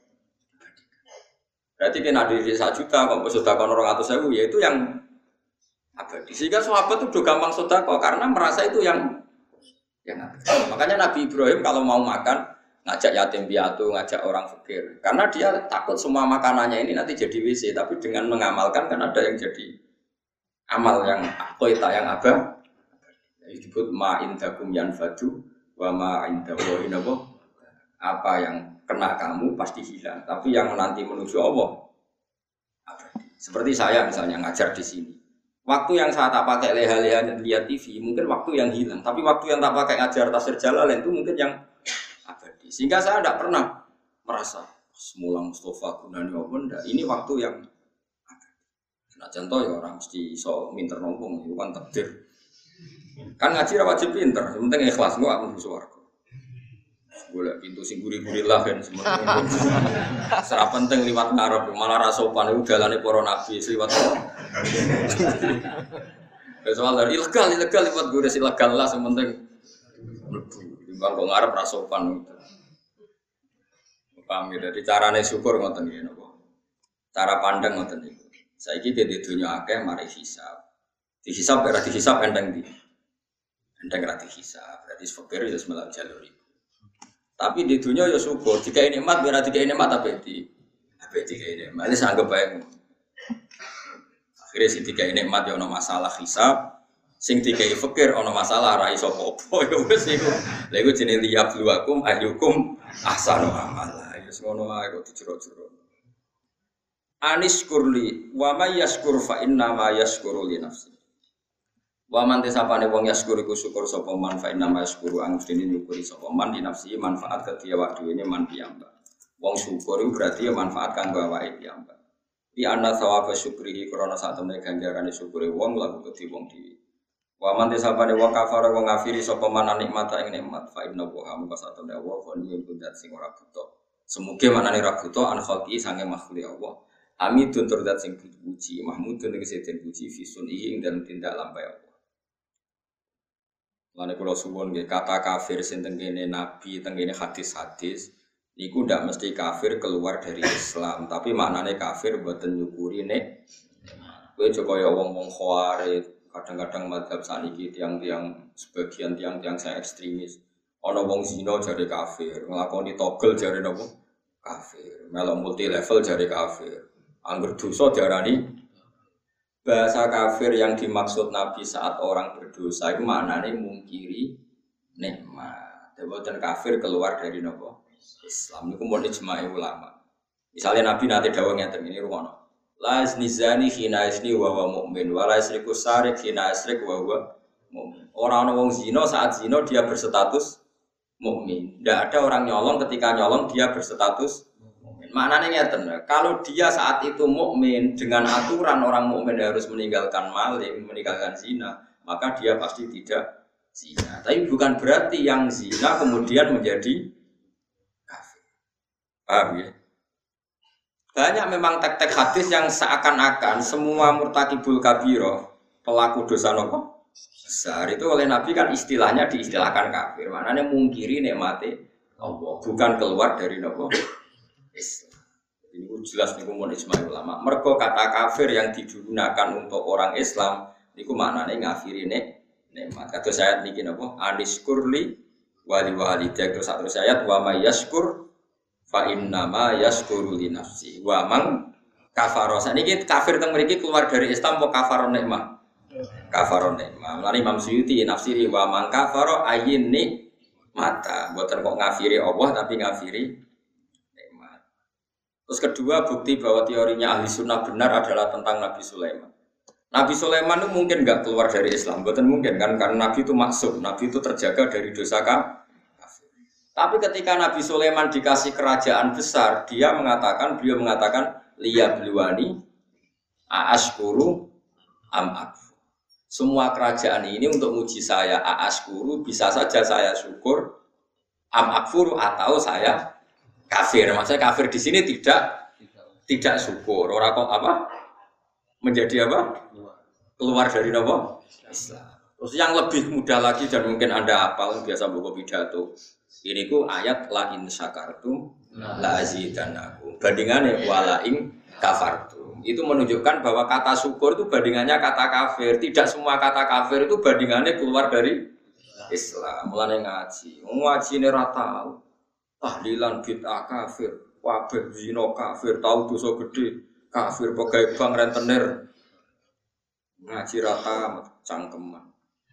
Berarti kena duit satu juta kalau sedekah orang ratus ribu ya itu yang abadi. Sehingga sahabat itu udah gampang sedekah karena merasa itu yang yang abadi. Makanya Nabi Ibrahim kalau mau makan ngajak yatim piatu, ngajak orang fakir. Karena dia takut semua makanannya ini nanti jadi W C, tapi dengan mengamalkan kan ada yang jadi amal yang qoita yang abah. Disebut ma indakum yanfadu wa ma indallahi nabo. Apa yang kena kamu pasti hilang, tapi yang nanti menuju Allah abadi. Seperti saya misalnya ngajar di sini. Waktu yang saya tak pakai leha-leha dan lihat T V mungkin waktu yang hilang, tapi waktu yang tak pakai ngajar tafsir Jalalain itu mungkin yang abadi. Sehingga saya tidak pernah merasa semula Mustafa gunanya apa enggak. Ini waktu yang abadi. Nah contoh ya orang mesti so minter nombong itu kan takdir. Kan ngaji ra wajib pinter, yang penting ikhlas kok aku swarga. Golek pintu sing guri-guri lah kan semono. Ora penting liwat ngarep, malah ra sopan iku dalane para nabi liwat. Wis soal dari ilegal ilegal liwat gure ilegal lah sing penting mlebu. Timbang kok ngarep ra sopan. Paham ya, dadi carane syukur ngoten nggih napa. Cara pandang ngoten niku. Saiki dadi donya akeh mari hisab. Dihisab ora dihisab endang ndi. Endang ra dihisab, berarti fakir ya semelang jalur iku. Tapi di dunia ya syukur, jika ini nikmat biar jika ini nikmat tapi di tapi jika ini nikmat, ini anggap baik. Akhirnya si tiga ini nikmat ya no masalah hisab, Sing dikai fikir ana masalah ra iso apa-apa ya wis iku. Lha iku jenenge liyabluwakum ayyukum ahsanu amala. Ya wis ngono ae kok dijero-jero. Anis kurli wa may yashkur fa inna ma yashkuru li nafsi. Wa man tesapane wong yashkur iku syukur sapa man fa inna ma yashkuru ang dene nyukuri sapa man di nafsi manfaat kedhi awak dhewe man piyambak. Wong syukur iku berarti ya manfaat kanggo awake piyambak. Di anna sawaba syukrihi krana sak temene ganjarane syukure wong laku kedhi wong dhewe. Wa man tesapane wong kafara wong ngafiri sapa man nikmata ing nikmat fa inna wa hamka sak temene wa ghaniyun kundat sing ora buta. Semuge manane ra buta an khalqi sange makhluk Allah. Hamidun turdat sing dipuji, mahmudun tegese den puji fisun ing dalam tindak lampah Allah. Lan kula suwun nggih kata kafir sing tengene nabi, tengene hadis-hadis niku ndak mesti kafir keluar dari Islam, tapi maknane kafir mboten nyukuri nek kowe aja kaya wong-wong khawarij, kadang-kadang madzhab saniki tiang-tiang sebagian tiang-tiang saya ekstremis. Ana wong zina jare kafir, nglakoni togel jare napa? Kafir. Melok multi level jare kafir. Angger dosa diarani bahasa kafir yang dimaksud Nabi saat orang berdosa itu maknanya mungkiri nikmat. Deboten kafir keluar dari nopo Islam. Niku mun ijma'i ulama. Misalnya Nabi nate dawuh ngeten ini rumono. La iznizani hina izni wa wa mu'min wa la isriku sarik hina isrik wa wa mu'min. Orang ana wong zina saat zina dia berstatus mukmin. Tidak ada orang nyolong ketika nyolong dia berstatus maknanya ngeten, kalau dia saat itu mukmin dengan aturan orang mukmin harus meninggalkan maling, meninggalkan zina, maka dia pasti tidak zina. Tapi bukan berarti yang zina kemudian menjadi kafir. Paham ya? Banyak memang tek-tek hadis yang seakan-akan semua murtakibul kabiro, pelaku dosa nopo besar itu oleh Nabi kan istilahnya diistilahkan kafir. Maknanya mungkiri nikmati Allah, bukan keluar dari nopo Islam. Ini jelas niku mun ijma' ulama. Mergo kata kafir yang digunakan untuk orang Islam niku maknane ngafiri nek nikmat. Kados ayat niki napa? Aniskurli wali walidak terus terus ayat wa may yashkur fa inna ma yashkuru li nafsi. Wa man kafara. Saniki kafir teng mriki keluar dari Islam apa kafaro nikmat? Kafaro nikmat. Lan Imam Suyuti nafsiri wa man kafara ayyin nikmata. Mboten kok ngafiri Allah tapi ngafiri. Terus kedua bukti bahwa teorinya ahli sunnah benar adalah tentang Nabi Sulaiman. Nabi Sulaiman itu mungkin nggak keluar dari Islam, bukan mungkin kan karena Nabi itu maksum, Nabi itu terjaga dari dosa kafir. Tapi ketika Nabi Sulaiman dikasih kerajaan besar, dia mengatakan, beliau mengatakan liya bluwani aaskuru am akfur. Semua kerajaan ini untuk uji saya aaskuru, bisa saja saya syukur am akfur atau saya kafir. Maksudnya kafir di sini tidak tidak syukur. Orang kok apa? Menjadi apa? Keluar dari apa? Islam. Terus yang lebih mudah lagi dan mungkin Anda hafal biasa buku pidato. Ini ku ayat la in syakartum la azidannakum. Bandingannya wala in kafartum. Itu menunjukkan bahwa kata syukur itu bandingannya kata kafir. Tidak semua kata kafir itu bandingannya keluar dari Islam. Mulane ngaji. Ngaji ini ra tahu. Tahlilan bid'ah kafir, wabah zina kafir, tahu dosa gede kafir, pegawai bank rentenir ngaji rata cangkeman.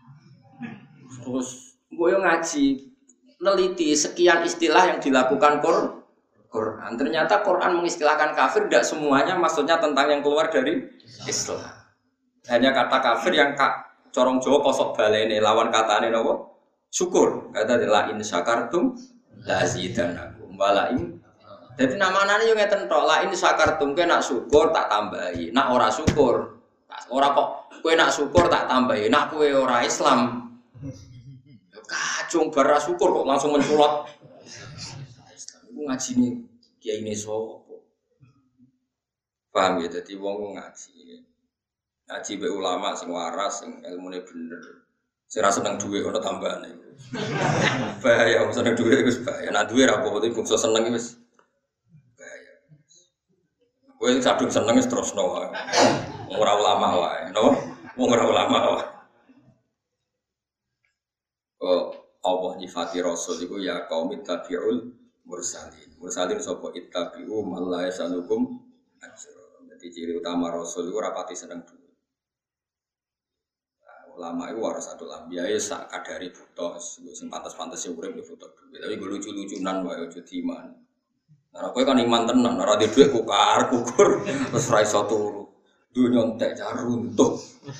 Terus gue ngaji neliti sekian istilah yang dilakukan Quran. Ternyata Quran mengistilahkan kafir tidak semuanya maksudnya tentang yang keluar dari Islam. Hanya kata kafir yang kak corong Jawa kosok balene lawan katane napa? Syukur. Kata la in syakartum la azidannakum walain. Jadi nama-namanya yo ngeten tok, la in syakartum kowe nak syukur tak tambahi, nak ora syukur. Ora kok kowe nak syukur tak tambahi, nak kowe ora Islam. Kacung bara syukur kok langsung menculot. Iku ngajine kiai ne sapa? Paham ya dadi wong ngaji. Ngaji be ulama sing waras, sing ilmune bener. Sing ra seneng dhuwit ana tambahane. Bahaya wong seneng dhuwit wis bahaya. Nek dhuwit ra apa-apa iki bangsa seneng wis bahaya. Kowe sadung seneng wis terusno wae. Wong ora ulama wae, no? Wong ora ulama wae. Oh, Allah nyifati Rasul iku ya qaum ittabi'ul mursalin. Mursalin sapa ittabi'u man la yasalukum ajra. Dadi ciri utama Rasul iku ora pati seneng dhuwit. ulama itu warasatul anbiya ya sak kadari buta sing pantes-pantes urip yo buta. Tapi gue lucu-lucunan wae aja diiman. Ora kowe kan iman tenan, ora di dhuwit kukar kukur terus ra iso turu. Dunya entek jar runtuh.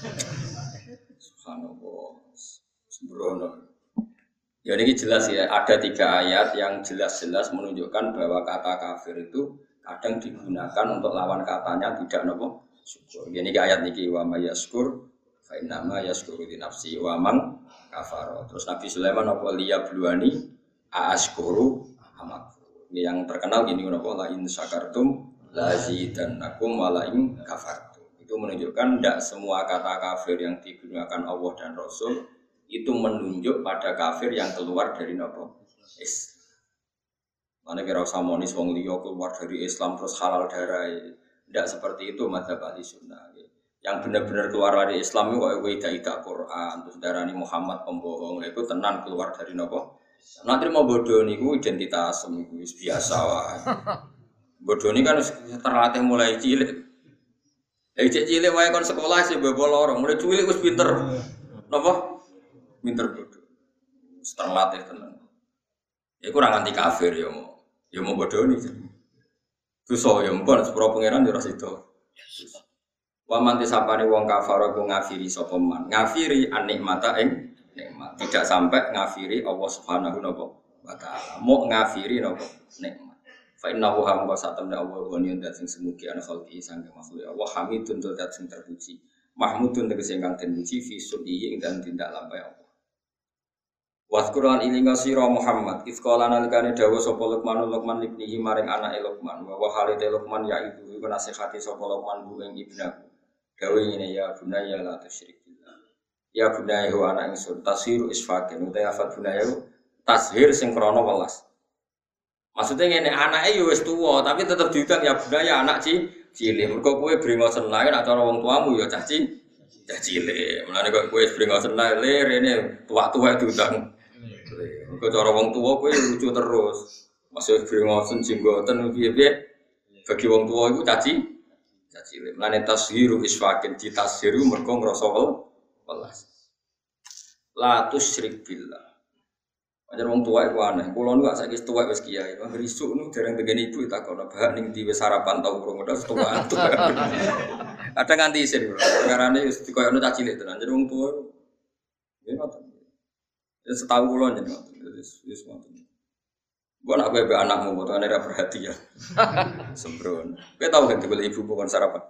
Subhanallah. Sembrono. Ya ini jelas ya, ada tiga ayat yang jelas-jelas menunjukkan bahwa kata kafir itu kadang digunakan untuk lawan katanya tidak nopo syukur. Ini ayat niki wa may yaskur fa inna ma yaskuru li nafsi wa man kafara. Terus Nabi Sulaiman apa liya bluani askuru amak. Ini yang terkenal gini nopo la in syakartum lazidannakum wa la in kafartum. Itu menunjukkan tidak semua kata kafir yang digunakan Allah dan Rasul itu menunjuk pada kafir yang keluar dari nopo Islam. Mana kira usah monis wong liya keluar dari Islam terus halal darah. Tidak seperti itu madzhab ahli sunnah. Yang benar-benar keluar dari Islam itu kok weda ida Quran terus darani Muhammad pembohong itu tenan keluar dari nopo. Nanti mau bodoh niku identitas niku biasa wae. Bodoh ini kan terlatih mulai cilik. Dari cilik wae kon sekolah sih bebo lorong, mulai cilik wis pinter. Napa? Pinter bodoh. Terlatih tenan. Ya kurang anti kafir ya mau. Ya mau bodoh nih. Dosa ya mpun sepuro pangeran ya ora sida. Wa man tisapane wong kafir ku ngafiri sapa man. Ngafiri anikmata ing nikmat. Tidak sampai ngafiri Allah Subhanahu wa taala. Mau ngafiri napa nikmat. Fa innahu hamwa satamna Allah wa niyan dat sing semugi ana khalqi sangge makhluk Allah hamidun dat sing terpuji. Mahmudun tegese ingkang den puji fi sudi ing dan tindak lampahe Allah. Waskuran ilinga sira Muhammad ifqala nalikane dawuh sapa Luqman Luqman ibnihi maring anake Luqman wa wa halite Luqman ya ibu iku nasihati sapa Luqman bu ing ibnaku dawuh ngene ya bunaya la tusyrik billah ya bunaya wa ana ingsun tasiru isfakin uta afat bunaya tashir sing krana welas maksudnya ngene anake ya wis tuwa tapi tetep diundang ya bunaya anak ci cilik mergo kowe brengosen lae nek cara wong tuamu ya cah ci cah cilik mulane kok kowe brengosen lae rene tuwa-tuwa diundang. Kau cara wong tua, kau lucu terus. Masih beringosen jenggoten, piye-piye. Bagi wong tua itu caci, caci. Melane tashiru isfakin di tashiru mergo ngrasa welas. La tusyrik billah. Pancen wong tua iku aneh. Kula nu gak saiki tuwek wis kiai. Wong risuk nu dereng tengen ibu takon bah ning diwe sarapan tau urung udah tuwa. Kadang nganti isin kula. Perkarane wis dikoyono caci cilik tenan. Jadi wong tua nggih ngoten. Ya setahu kula jeneng ngoten. Wis wis ngoten. Gua nak bebe anakmu potongane ra perhatian. Sembrono. Kowe tau gak dibeli ibu kon sarapan?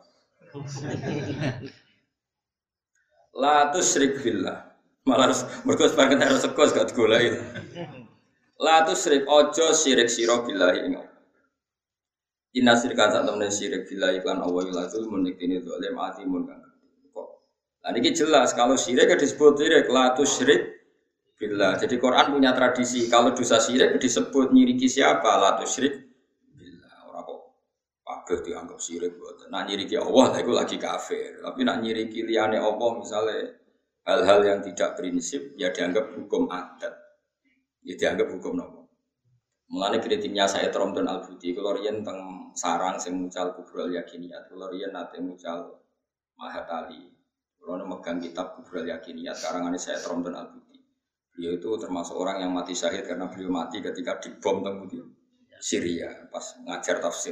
La tusyrik billah. Malah mergo sebagian harus sekos gak digoleki. La tusyrik ojo syirik sira billahi ing Allah. Inna syirka sak temene syirik billahi kan Allah lazul munikini zalim atimun kan. Kok. Lah niki jelas kalau syirik disebut syirik la tusyrik billah. Jadi Quran punya tradisi kalau dosa syirik disebut nyiriki siapa? La tusyrik billah. Ora kok kabeh dianggap syirik mboten. Nak nyiriki Allah lha iku lagi kafir. Tapi nak nyiriki liyane Allah misalnya hal-hal yang tidak prinsip ya dianggap hukum adat. Ya dianggap hukum nopo. Mulane kritiknya saya Tromdon Al-Budi kula riyen teng sarang sing mucal kubrul yakiniyat. Kula riyen nate mucal Mahatali. Kula megang kitab kubrul yakiniyat karangane saya Tromdon Al-Budi. Beliau itu termasuk orang yang mati syahid karena beliau mati ketika dibom teng Syria pas ngajar tafsir.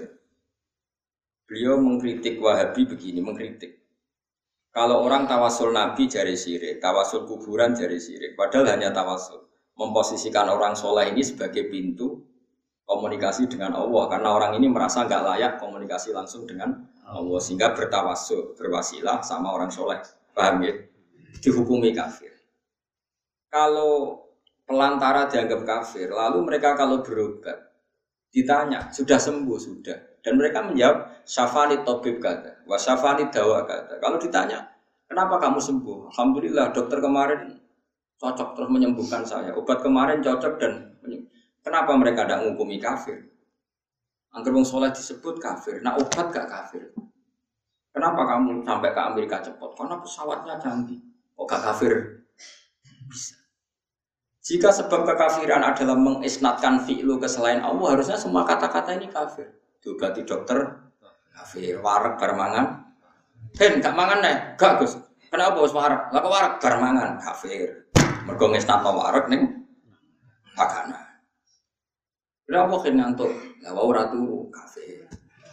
Beliau mengkritik Wahabi begini, mengkritik. Kalau orang tawasul Nabi jari syirik, tawasul kuburan jari syirik, padahal hanya tawasul. Memposisikan orang soleh ini sebagai pintu komunikasi dengan Allah karena orang ini merasa nggak layak komunikasi langsung dengan Allah sehingga bertawasul, berwasilah sama orang soleh. Paham ya? Dihukumi kafir. Kalau pelantara dianggap kafir, lalu mereka kalau berobat ditanya sudah sembuh sudah, dan mereka menjawab syafani tabib kata, wa syafani dawa kata. Kalau ditanya kenapa kamu sembuh? Alhamdulillah dokter kemarin cocok terus menyembuhkan saya. Obat kemarin cocok dan kenapa mereka tidak menghukumi kafir? Angger wong saleh disebut kafir, nah obat gak kafir. Kenapa kamu sampai ke Amerika cepat? Karena pesawatnya canggih. Kok gak kafir? Bisa. Jika sebab kekafiran adalah mengisnatkan fi'lu ke selain Allah, harusnya semua kata-kata ini kafir. Diobati dokter, kafir. Warak barmangan, hen gak mangan nih, gak Gus. Kenapa wis warak? Lah kok warak bar mangan kafir. Mergo ngesnatno warak ning pakanan. Kenapa kene ngantuk? Lah wae ora turu kafir.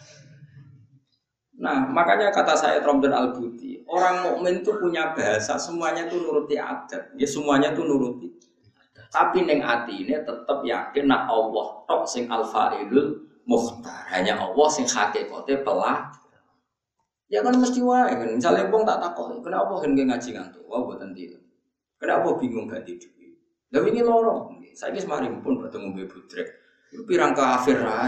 Nah, makanya kata saya Romdan Al-Buti, orang mukmin itu punya bahasa, semuanya itu nuruti adat. Ya semuanya itu nuruti. Tapi ning atine tetep yakin nak Allah tok sing al-fa'ilul mukhtar. Hanya Allah sing hakikate pelah. Ya kan mesti wae kan. Misale wong tak takoki, kenapa hen ngaji ngantuk? Wah mboten tidur. Kenapa bingung gak tidur? Lah wingi loro. Saiki semari pun bertemu Mbak Budrek. Pirang kafir ae.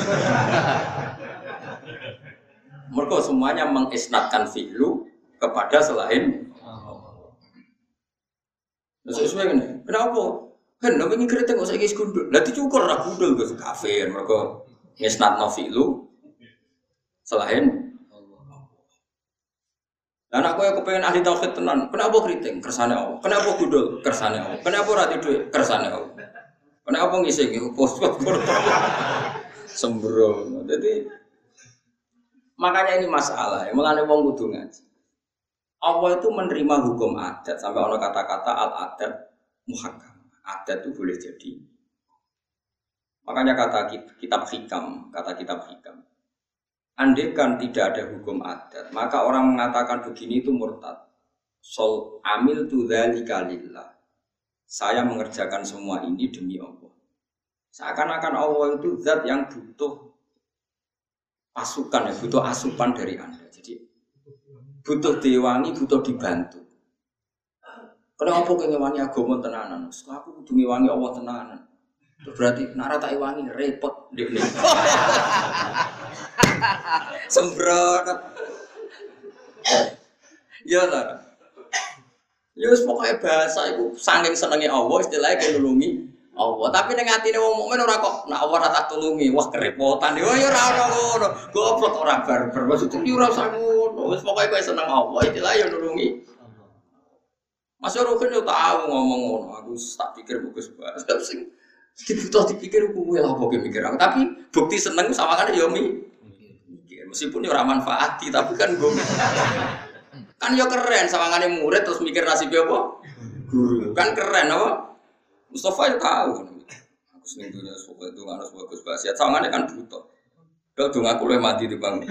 Mereka semuanya mengisnadkan fi'lu kepada selain Allah. Nah, sesuai kan? Kenapa? Kan namanya ini kritik kok saiki gundul. Lah dicukur ra gundul Gus kafir. Mereka ngisnadno fi'lu selain Allah. Lah aku yang kepengen ahli tauhid tenan, kenapa kritik? Kersane Allah. Kenapa gundul? Kersane Allah. Kenapa ora tidur? Kersane Allah. Kenapa ngisi iki pos-pos sembrono. Jadi makanya ini masalah, ya. Mulane wong kudu ngaji. Allah itu menerima hukum adat sampai ono kata-kata al-adat muhakkam. Adat itu boleh jadi. Makanya kata kitab hikam, kata kitab hikam. Andaikan tidak ada hukum adat, maka orang mengatakan begini itu murtad. Sol amil tu dzalika lillah. Saya mengerjakan semua ini demi Allah. Seakan-akan Allah itu zat yang butuh pasukan, ya, butuh asupan dari Anda. Jadi butuh diwangi, butuh dibantu. Kenapa kok ngewangi agama tenanan? Aku kudu ngewangi Allah tenanan. Berarti nara tak wangi repot ndekne. Sembrot. Ya lah. Ya wis pokoke bahasa iku saking senenge Allah istilahnya kelulungi Allah. Tapi ning atine wong mukmin ora kok nek Allah ora tak tulungi, wah kerepotan. Ya ya ora ono ngono. Goblok ora barbar. Maksudku yo ora usah ngono. Wis pokoke kowe seneng Allah istilahnya yo nulungi. Mas Rokin yo tahu ngomong ngono. Aku tak pikir bagus banget. Sing dibutuh dipikir kuwi lha apa mikir aku. Tapi bukti seneng sawangane yo mikir. Meskipun yo ora manfaati tapi kan gue kan yo keren sawangane murid terus mikir nasib apa? Guru. Kan keren apa? Mustafa yo tahu. Aku seneng dunia sok itu harus bagus banget. Sawangane kan butuh. Kalau dong aku luwih mati di bang.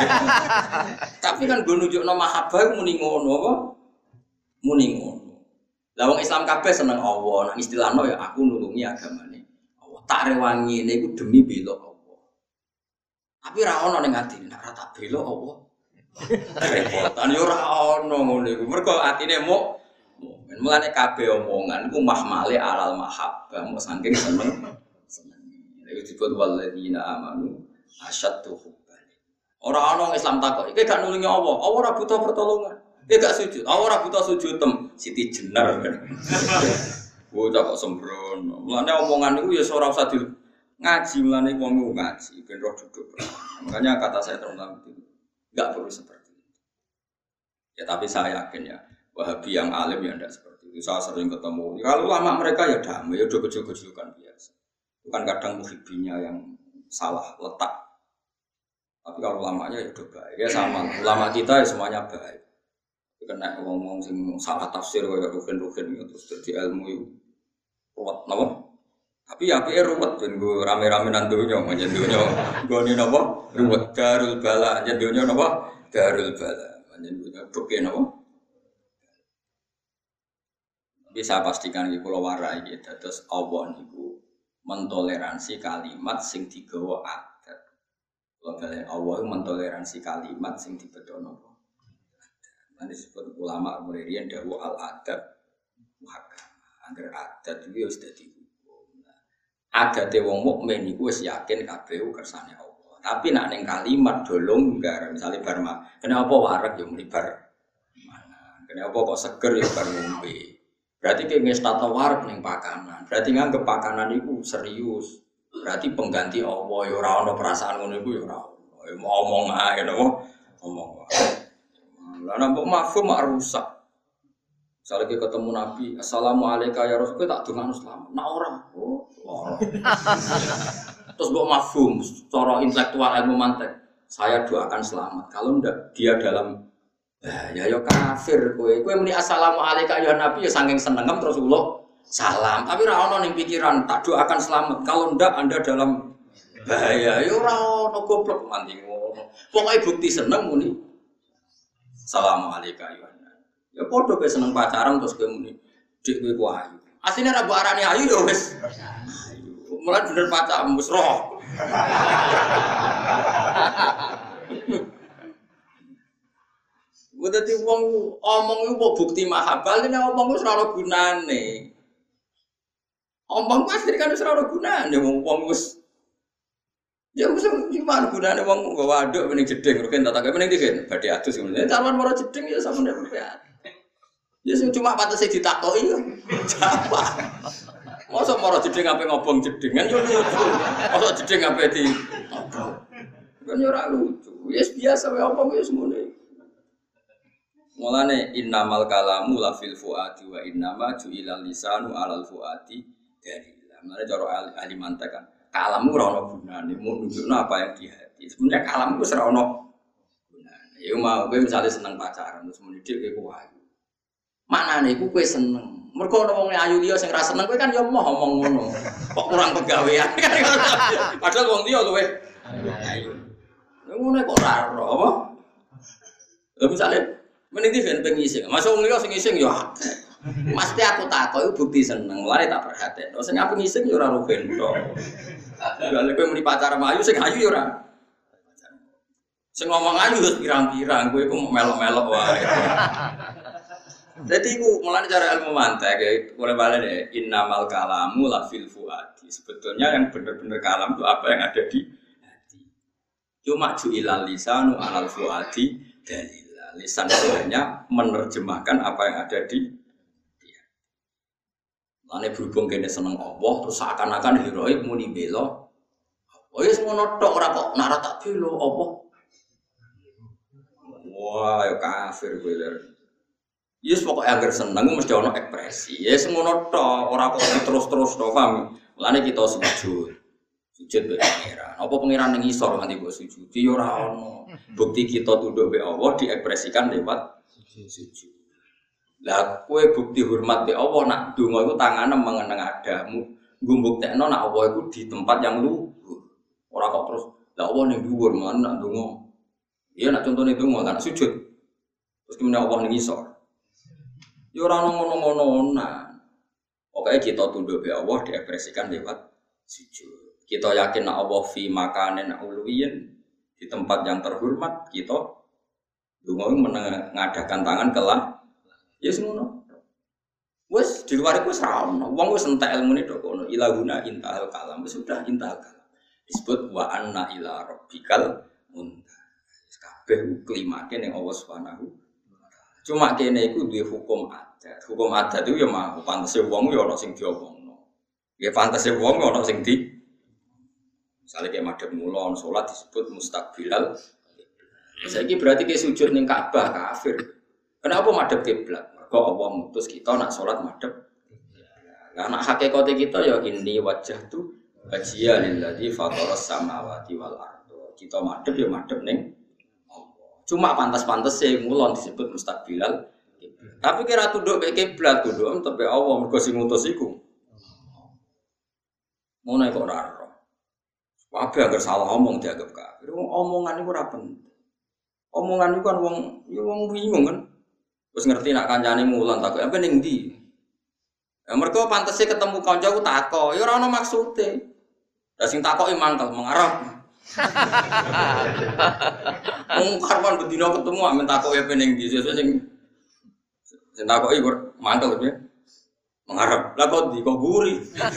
Tapi kan gue nunjukno mahabbah muni ngono apa? Muni ngono. Lah wong Islam kabeh seneng Allah. Nah istilahno ya aku nulungi agamane Allah. Tak rewangi niku demi bela Allah. Tapi ra ono ning atine nek ra tak bela Allah. Repotan yo ora ono ngono iku. Mergo atine muk mukmin. Mulane kabeh omongan iku mahmale alal mahabbah, mok saking seneng. Seneng. Iku disebut walladzina amanu asyaddu hubban. Ora ono Islam takok, iki gak nulungi Allah. Allah ora butuh pertolongan. Iki gak sujud. Allah ora butuh sujud tem Siti Jenar kan. Bocah kok sembrono. Mulane omongan iku ya ora usah di ngaji, mulane wong ngaji ben roh duduk. Makanya kata saya terus enggak perlu seperti itu. Ya tapi saya yakin ya, Wahabi yang alim ya enggak seperti itu. Saya sering ketemu. Kalau lama mereka ya damai, ya udah kecil-kecilan biasa. Bukan kadang muhibinya yang salah letak. Tapi kalau lamanya ya udah baik. Ya sama, ulama kita ya semuanya baik. Kena ngomong sing salah tafsir kayak rugen-rugen itu terus jadi ilmu itu ruwet napa? Tapi ya piye ruwet ben go rame-rame nang donya, njen donya gone napa? Ruwet darul bala, njen donya napa? Darul bala. Njen donya buke napa? Bisa pastikan iki kula warai iki dados Allah niku mentoleransi kalimat sing digawa adat. Kula balen Allah mentoleransi kalimat sing dibedono napa? Nanti disebut ulama kemudian dawuh al-adab muhakkam. Angger adat iki wis dadi hukum. Adate wong mukmin iku wis yakin kabeh kersane Allah. Tapi nek ning kalimat dolonggar misale bar mak, kenapa wareg ya muni bar mangan. Kenapa kok seger ya bar ngombe. Berarti ki ngestata wareg ning pakanan. Berarti nganggep pakanan iku serius. Berarti pengganti Allah ya ora ana perasaan ngono iku ya ora. Omong ae napa? Omong ae. Lah nampak mafhum mak rusak. Misalnya kita ketemu Nabi, Assalamualaikum ya Rasul, kita tak dongakno selamat. Nah orang, oh, orang. Terus mbok mafhum, cara intelektual ilmu mantek, saya doakan selamat. Kalau ndak dia dalam Nah, ya yo kafir kowe. Kowe muni assalamualaikum ya Nabi ya saking senengem terus ulo salam. Tapi ora ono ning pikiran tak doakan selamat. Kalau ndak Anda dalam bahaya. Ya ora ono goblok mandi ngono. Pokoke bukti seneng muni assalamualaikum ya Nabi. Ya padha kowe seneng pacaran terus kowe muni dik kowe ku ayu. Asline ra mbok arani ayu ya wis. Ayu. Mulai bener pacaran wis roh. Udah di wong omong itu bukti mahabbah, ini omong itu selalu gunane. Omong pasti kan selalu gunane, wong wong wis. Ya wis gimana gunane wong waduk mending jeding, rugen tak tak mending digen, badhe adus ngene. Carwan moro jeding ya sampeyan ya. Ya sing cuma patese ditakoki yo. Jawab. Mosok moro jeding ape ngobong jedingan yo lucu. Mosok jeding ape di ngobong. Kan yo ora lucu. Wis biasa wae omong wis ngene. Mulane innamal kalamu la fil fuadi wa innama ju'ilal lisanu alal fuadi dalila. Mulane cara ahli mantek kan kalamu ora ono gunane, mau nunjukno apa yang di hati. Sebenarnya kalamu wis ora ono gunane. Ya mau kowe misale seneng pacaran terus muni dik kowe ayu. Maknane iku kowe seneng. Mergo ono wong ayu liya sing ra seneng kowe kan ya moh omong ngono. Kok kurang pegawean. Padahal wong liya luwe ayu. Ngono kok ora ora apa? Lha misale mending diven pengising. Masuk wong liya sing ngising ya akeh. Mesti aku takok iku bukti seneng. Mulane tak perhatekno. Sing aku ngising ya ora rugen tok. Lha kowe muni pacar ayu sing ayu ya ora. Sing ngomong ayu wis pirang-pirang, kowe iku melok-melok wae. Dadi iku mulane cara ilmu mantek mulai balen ya innamal kalamu la fil fuadi. Sebetulnya yang benar-benar kalam itu apa yang ada di hati. Cuma ju'ilal lisanu alal fuadi dalil. Lisan hanya menerjemahkan apa yang ada di dia. Lane berhubung kene seneng Allah terus seakan-akan heroik muni bela. Oh ya semono tok ora kok nak tak bela apa. Wah, ya kafir kowe lho. Yes pokoke agar seneng mesti ana ekspresi. Ya semono tok ora kok terus-terus tok paham. Lane kita sujud. Sujud be pangeran. Apa pangeran ning isor nganti mbok sujud? Ya ora ono. Bukti kita tunduk be Allah diekspresikan lewat sujud. Lah kowe bukti hormat be Allah nak donga iku tangane mengeneng adamu. Nggo mbuktekno nak Allah iku di tempat yang luhur. Ora kok terus lah Allah ning dhuwur men nak donga. Iya nak contone donga kan sujud. Terus kemudian Allah ning isor. Ya ora ono ngono-ngono nah. Pokoke kita tunduk be Allah diekspresikan lewat sujud. Kita yakin nak Allah fi makanin uluwiyin di tempat yang terhormat kita donga mengadakan tangan kelah ya semono. Wes di luar iku wis ra ono. Wong wis entek ilmune tok kono. Ilahuna intahal kalam wis sudah intahal kalam. Disebut wa anna ila rabbikal muntaha. Kabeh klimake ning Allah Subhanahu wa taala. Cuma kene iku duwe hukum adat. Hukum adat itu ya mah pantese wong ya ana sing diomongno. Ya pantese wong ana sing di misalnya kayak madhep mulon, sholat disebut mustaqbilal. Saiki berarti kayak sujud ning Ka'bah kafir. Kenapa madhep kiblat? Mergo Allah mutus kita nak sholat madhep. Lah nak hakikate kita ya inni wajjahtu wajhiya lilladzi fataras samawati wal ardh. Kita madhep ya madhep ning Allah. Cuma pantas-pantes e mulon disebut mustaqbilal. Tapi kira tunduk ke kiblat tunduk tepe Allah mergo sing ngutus iku. Ngono kok ora. Wabe agar salah omong dianggap kafir. Omongan itu ora penting. Omongan itu kan wong, ya wong bingung kan. Terus ngerti nak kancane mulan takok, apa ning ndi? Ya mergo pantese ketemu kanca ku takok, ya ora ono maksude. Lah sing takoki mangkel mengarep. Wong karwan bedina ketemu amen takoki apa ning ndi, sesuk sing sing takoki mangkel piye? Mengarep. Lah kok di kok guri.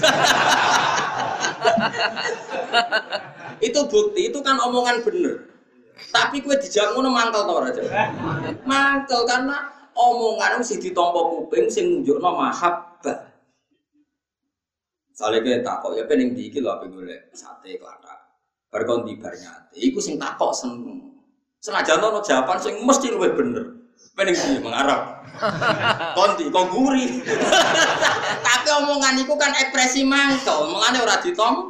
Itu bukti, itu kan omongan bener. Tapi kowe dijak ngono mangkel ta ora, Cak? Mangkel karena omongan sing ditampa kuping sing nunjukno mahabbah. Sale kowe takok ya pening ndi iki lho ape golek sate klathak. Bar kon di bar nyate, iku sing takok seneng. Senajan ono jawaban sing mesti luwih bener. Pening ndi mengarep. Konti kok guri. Tapi omongan iku kan ekspresi mangkel, mengane ora ditom.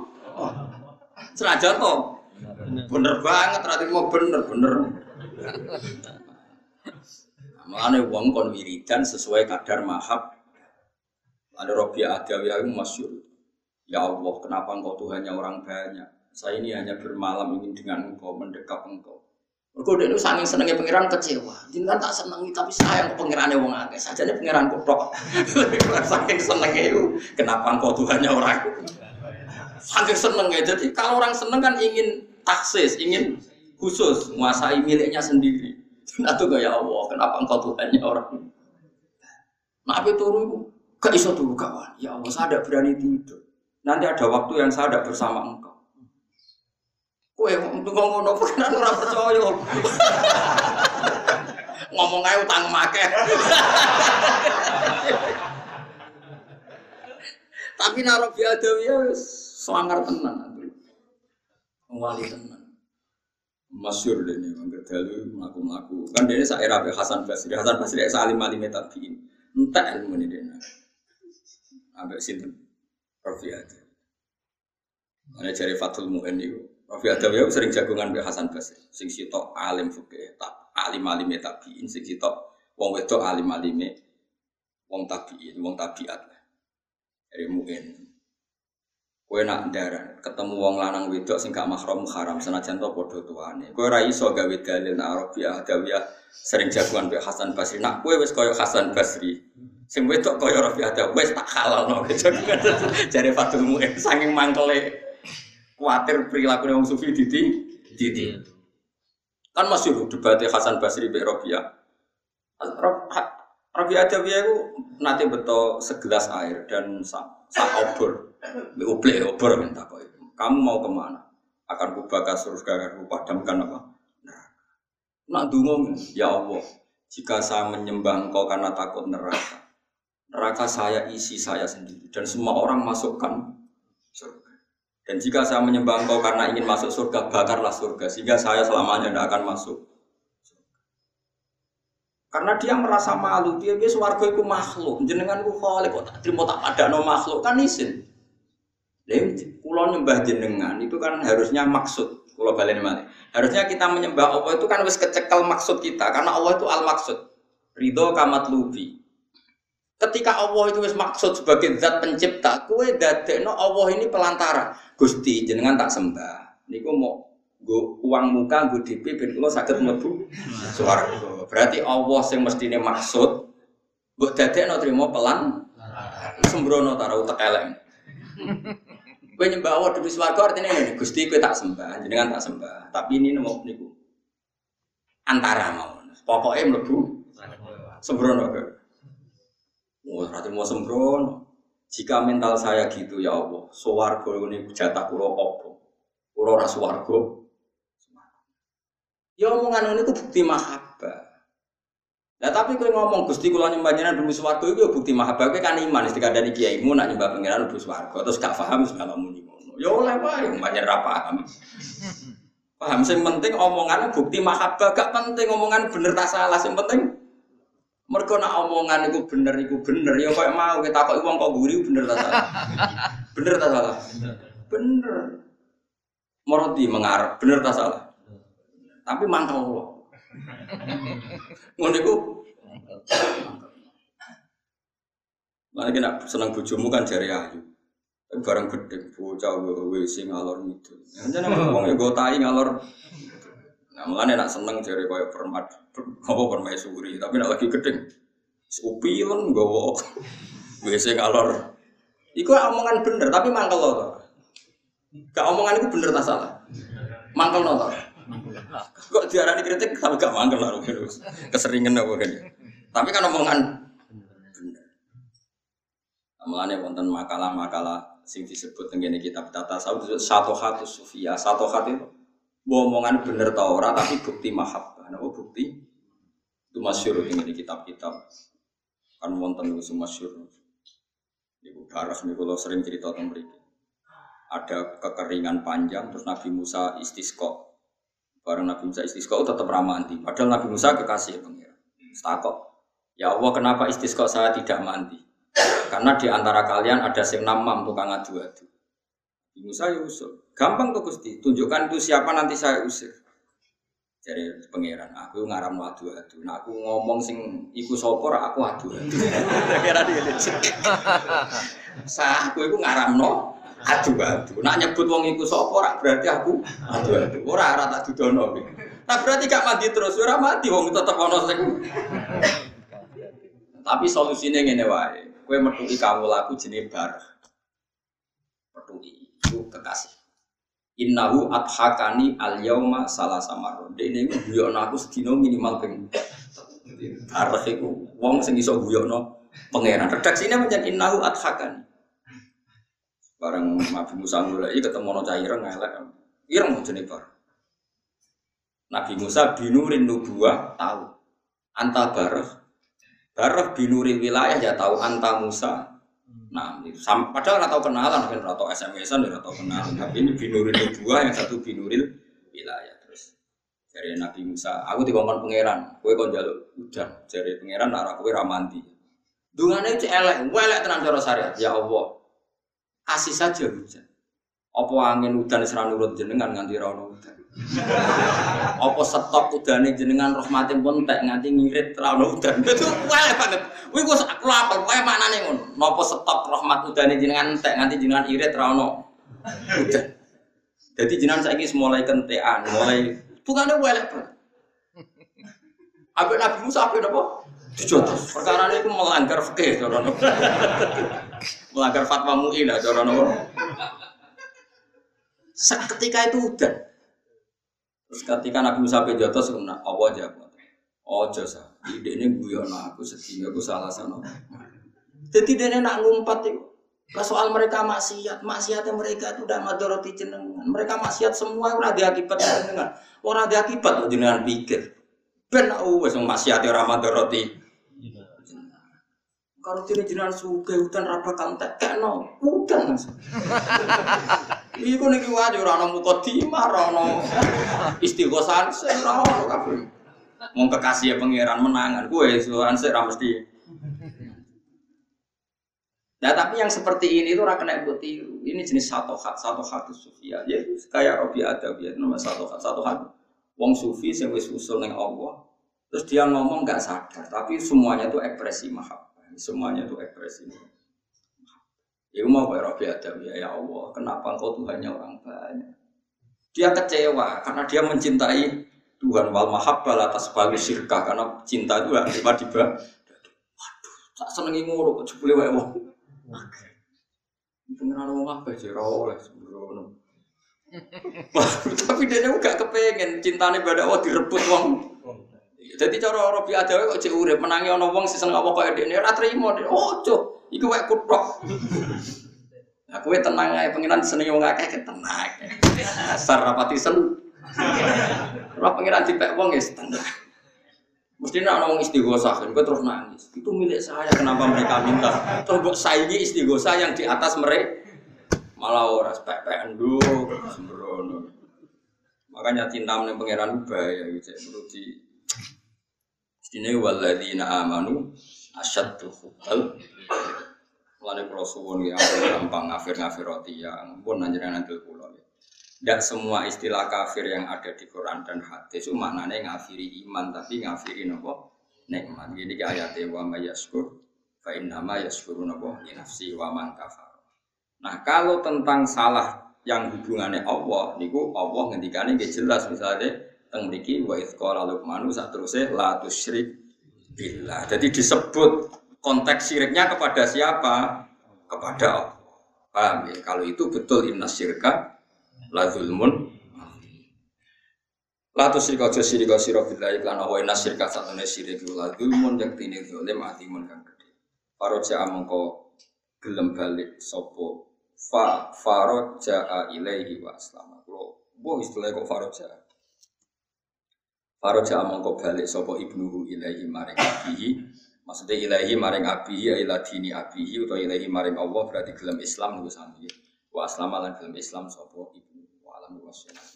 Senajan to. Bener banget, berarti mau bener-bener. Mulane wong kon wiridan sesuai kadar mahab. Ada Rabi'ah Adawiyah yang masyhur. Ya Allah, kenapa engkau Tuhannya orang banyak? Saya ini hanya bermalam ingin dengan engkau, mendekap engkau. Mergo dene saking senenge pangeran kecewa. Jenengan tak senengi tapi sayang ke pangerane wong akeh. Sajane pangeran kutok. Saking senenge itu, kenapa engkau Tuhannya orang? Saking senenge. Jadi kalau orang seneng kan ingin taksis, ingin khusus, menguasai miliknya sendiri. Nah tuh ya Allah, kenapa engkau Tuhannya orang? Nah apa turu gak iso turu kawan. Ya Allah, saya tidak berani tidur. Nanti ada waktu yang saya tidak bersama engkau. Kowe untuk ngomong apa kan ora percaya. Ngomong ae utang make. Tapi naro biadawiyah wis swangar tenan. Wali tenan. Masyhur dene mangger dalu mlaku-mlaku. Kan dene sak era Hasan Basri. Hasan Basri salim alim tabiin. Entek ilmu dene. Ambek sinten? Rafi Adawi. Ana jare Fathul Mu'in niku. Rafi Adawi sering jagongan mbek Hasan Basri. Sing sitok alim fikih, tak alim-alim tabiin, sing sitok wong wedok alim-alime wong tabiin, wong tabiat. Dari Mu'in. Kowe nak ndaran ketemu wong lanang wedok sing gak mahram haram senajan to padha tuane. Kowe ora iso gawe dalil nak Rafi Adawi sering jagongan mbek Hasan Basri. Nak kowe wis kaya Hasan Basri. Sing wedok kaya Rafi Adawi wis tak halalno. Jare Fathul Mu'in saking mangkele kuatir perilaku wong sufi diti diti. Kan masih debatnya Hasan Basri mbek Rabi'ah. Rabi Adawi itu nanti betul segelas air dan sak obor, ublek obor minta kau itu. Kamu mau kemana? Akan kubakar surga, akan kupadamkan apa? Nak dungo, ya Allah. Jika saya menyembah Engkau karena takut neraka, neraka saya isi saya sendiri dan semua orang masukkan surga. Dan jika saya menyembah Engkau karena ingin masuk surga, bakarlah surga sehingga saya selamanya tidak akan masuk. Karena dia merasa malu, dia biasa warga itu makhluk, jenengan ku khalik kok tak terima tak padakno makhluk kan isin. Lha kula nyembah jenengan itu kan harusnya maksud, kula baleni malih. Harusnya kita menyembah Allah itu kan wis kecekel maksud kita karena Allah itu al-maksud. Ridho kamatlubi. Ketika Allah itu wis maksud sebagai zat pencipta, kowe dadekno Allah ini pelantara. Gusti jenengan tak sembah. Niku mau nggo uang muka nggo D P ben kula saged mlebu swarga. Berarti Allah sing mestine maksud mbok dadekno trimo pelan sembrono ta ora utek elek. Kowe nyembah Allah demi swarga artine ngene, Gusti kowe tak sembah, jenengan tak sembah. Tapi ini nemu niku antara mawon. Pokoke mlebu sembrono kowe. Oh, berarti mau sembrono. Jika mental saya gitu ya Allah, swarga ini jatah kula apa? Kula ora swarga. Ya omongan ini ku bukti mahabbah. Nah tapi kowe ngomong Gusti kula nyembah jenengan demi swarga iku bukti mahabbah kowe kan iman wis dikandani kiaimu nak nyembah pangeran demi swarga terus gak paham segala muni ngono. Ya oleh wae banyak ra paham. Paham sing penting omongannya bukti mahabbah gak penting omongan bener ta salah sing penting mergo nak omongan iku bener iku bener ya koyo mau kita takoki wong kok guri bener ta salah. Bener ta salah? Bener. Moroti mengarep bener ta salah? Tapi mangkel kok. Ngono iku. Lah iki nek seneng bojomu kan jare ayu. Barang gedhe bocah wis sing ngalor ngidul. Jenenge wong ya go tai ngalor. Nah, mulane nek seneng jare koyo permat apa permaisuri, tapi nek lagi gedhe upilen nggawa wis sing ngalor. Iku omongan bener tapi mangkel to. Gak omongan iku bener ta salah? Mangkel to. Kok diarani kritik tapi gak mangkel lah terus. Keseringan apa kan. Tapi kan omongan bener. Mulane wonten makalah-makalah sing disebut teng kitab tasawuf satu khatus sufia. Satu khat itu omongan bener ta ora tapi bukti mahabbah. Napa bukti? Itu masyhur teng kitab-kitab. Kan wonten iku masyhur. Niku darah niku kula sering cerita teng mriki. Ada kekeringan panjang terus Nabi Musa istisqa. Barang Nabi Musa istisqa tetap ramah mandi. Padahal Nabi Musa kekasih pengira. Takok. Ya Allah kenapa istisqa saya tidak mandi? Karena di antara kalian ada sing namam tukang adu-adu. Nabi Musa ya usul. Gampang tuh Gusti. Tunjukkan itu siapa nanti saya usir. Jare pangeran, aku ngaramno adu-adu. Nah aku ngomong sing iku sapa ra aku adu-adu. Pangeran iki. Sah aku iku ngaramno adu-adu. Nak nyebut wong iku sapa ra berarti aku adu-adu. Ora ora tak dudono iki. Nah berarti gak mati terus, ora mati wong tetep ana sing. Tapi solusine ngene wae. Kowe metuki kawulaku jenenge bar. Metuki iku kekasih. Innahu adhakani al-yauma salasa marron. Dene iku guyokno aku sedina minimal ping. Arep iku wong sing iso guyokno pangeran. Redaksine pancen innahu adhakani. Bareng Nabi Musa mulai ketemu ana cah ireng elek. Ireng jenenge bar. Nabi Musa binurin nubuwah tahu. Anta barah. Barah binuril wilayah ya tahu anta Musa. Nah, padahal nggak tahu kenalan, kan nggak tahu S M S-an, nggak tahu kenalan. Tapi ini binuril nubuwah, yang satu binuril wilayah. Terus dari Nabi Musa, aku dikongkon pangeran, kowe kon njaluk udan. Dari pangeran arah kowe ramanti. Dungane cek elek, elek tenan cara syariat. Ya Allah, kasih saja hujan. Apa angin udan wis ra nurut jenengan nganti ra ono udan. Apa stok udane jenengan rahmatin pun tek nganti ngirit ra ono udan. Itu elek banget. Kuwi kok aku apal wae maknane ngono. Napa stok rahmat udane jenengan tek nganti jenengan irit ra ono udan. Jadi jenengan saiki mulai kentekan, mulai bukane elek banget. Ambek Nabi Musa apa napa? Dijotos. Perkara niku melanggar fikih cara napa. Melanggar fatwa M U I lah cara napa. Seketika itu udan. Terus ketika Nabi Musa pejotos kena apa aja. Ojo sah. Idene guyono aku sedina aku salah sana. Dadi dene nak ngumpat iku. Lah soal mereka maksiat, maksiatnya mereka itu udah madharati jenengan. Mereka maksiat semua ora ada akibat jenengan. Ora ada akibat jenengan pikir. Ben wis maksiate ora madharati. Kalau dene jenengan sugih udan ra bakal tekno. Udan. Iku niki wae ora ana mukadimah, ora ana istighosan, ora ono kabeh. Wong kekasih pangeran menangan, kowe sowan sik ra mesti. Nah, tapi yang seperti ini itu ora kena mbok tiru. Ini jenis satu hat, satu hat sufia. Ya kayak Robi Adawiyah nama satu hat, satu hat. Wong sufi sing wis usul ning Allah. Terus dia ngomong enggak sadar, tapi semuanya itu ekspresi mahabbah. Semuanya itu ekspresi mahabbah. Ya mau Pak Robi Adawiyah, ya Allah, kenapa engkau Tuhannya orang banyak? Dia kecewa karena dia mencintai Tuhan wal mahabbah atas bagi syirkah karena cinta itu tiba-tiba. Waduh, tak senengi ngono kok jebule wae wong. Pengenalan wong apa aja ora oleh sembrono. Tapi dia juga kepengen cintane pada Allah direbut wong. Jadi cara Robi Adawiyah kok cek urip menangi ana wong sing seneng apa kaya dekne ora trimo. Ojo, iku wae kuthok. Nah, kowe tenang ae pengiran senenge wong akeh tenang. Asar rapati sen. Ora pengiran dipek wong ya tenang. Mesti nek ana wong istighosah, kowe terus nangis. Itu milik saya, kenapa mereka minta? Terus mbok saingi istighosah yang di atas mereka. Malah ora spek-pekan nduk sembrono. Makanya cinta ning pengiran bahaya iki cek perlu di Dine walladzina amanu asyaddu hubbal. Mulane kula suwun ya gampang ngafir-ngafir roti ya ampun panjenengan andel kula. Tidak semua istilah kafir yang ada di Quran dan hadis itu maknanya ngafiri iman tapi ngafiri napa nikmat. Jadi ayat wa may yashkur fa innama yashkuru napa li nafsi wa man kafar. Nah, kalau tentang salah yang hubungannya Allah niku Allah ngendikane nggih jelas misalnya teng mriki wa idz qala luqmanu sateruse la tusyrik billah. Jadi disebut konteks syiriknya kepada siapa? Kepada Allah. Paham ya? Kalau itu betul inna syirka la zulmun. La tusyrik aja syirik sira billahi lan wa inna syirka satune syirik la zulmun yaktine zalim atimun kang gedhe. Faraja mongko gelem balik sapa fa faraja ilaihi wa aslama. Kulo mbok istilah kok faraja. Faraja mongko balik sapa ibnuhu ilaihi maring abihi. Maksudnya ilahi maring abihi ila dini abihi utawa ilahi maring Allah berarti gelem Islam niku sami. Wa aslama lan gelem Islam sapa ibnu wa alam wa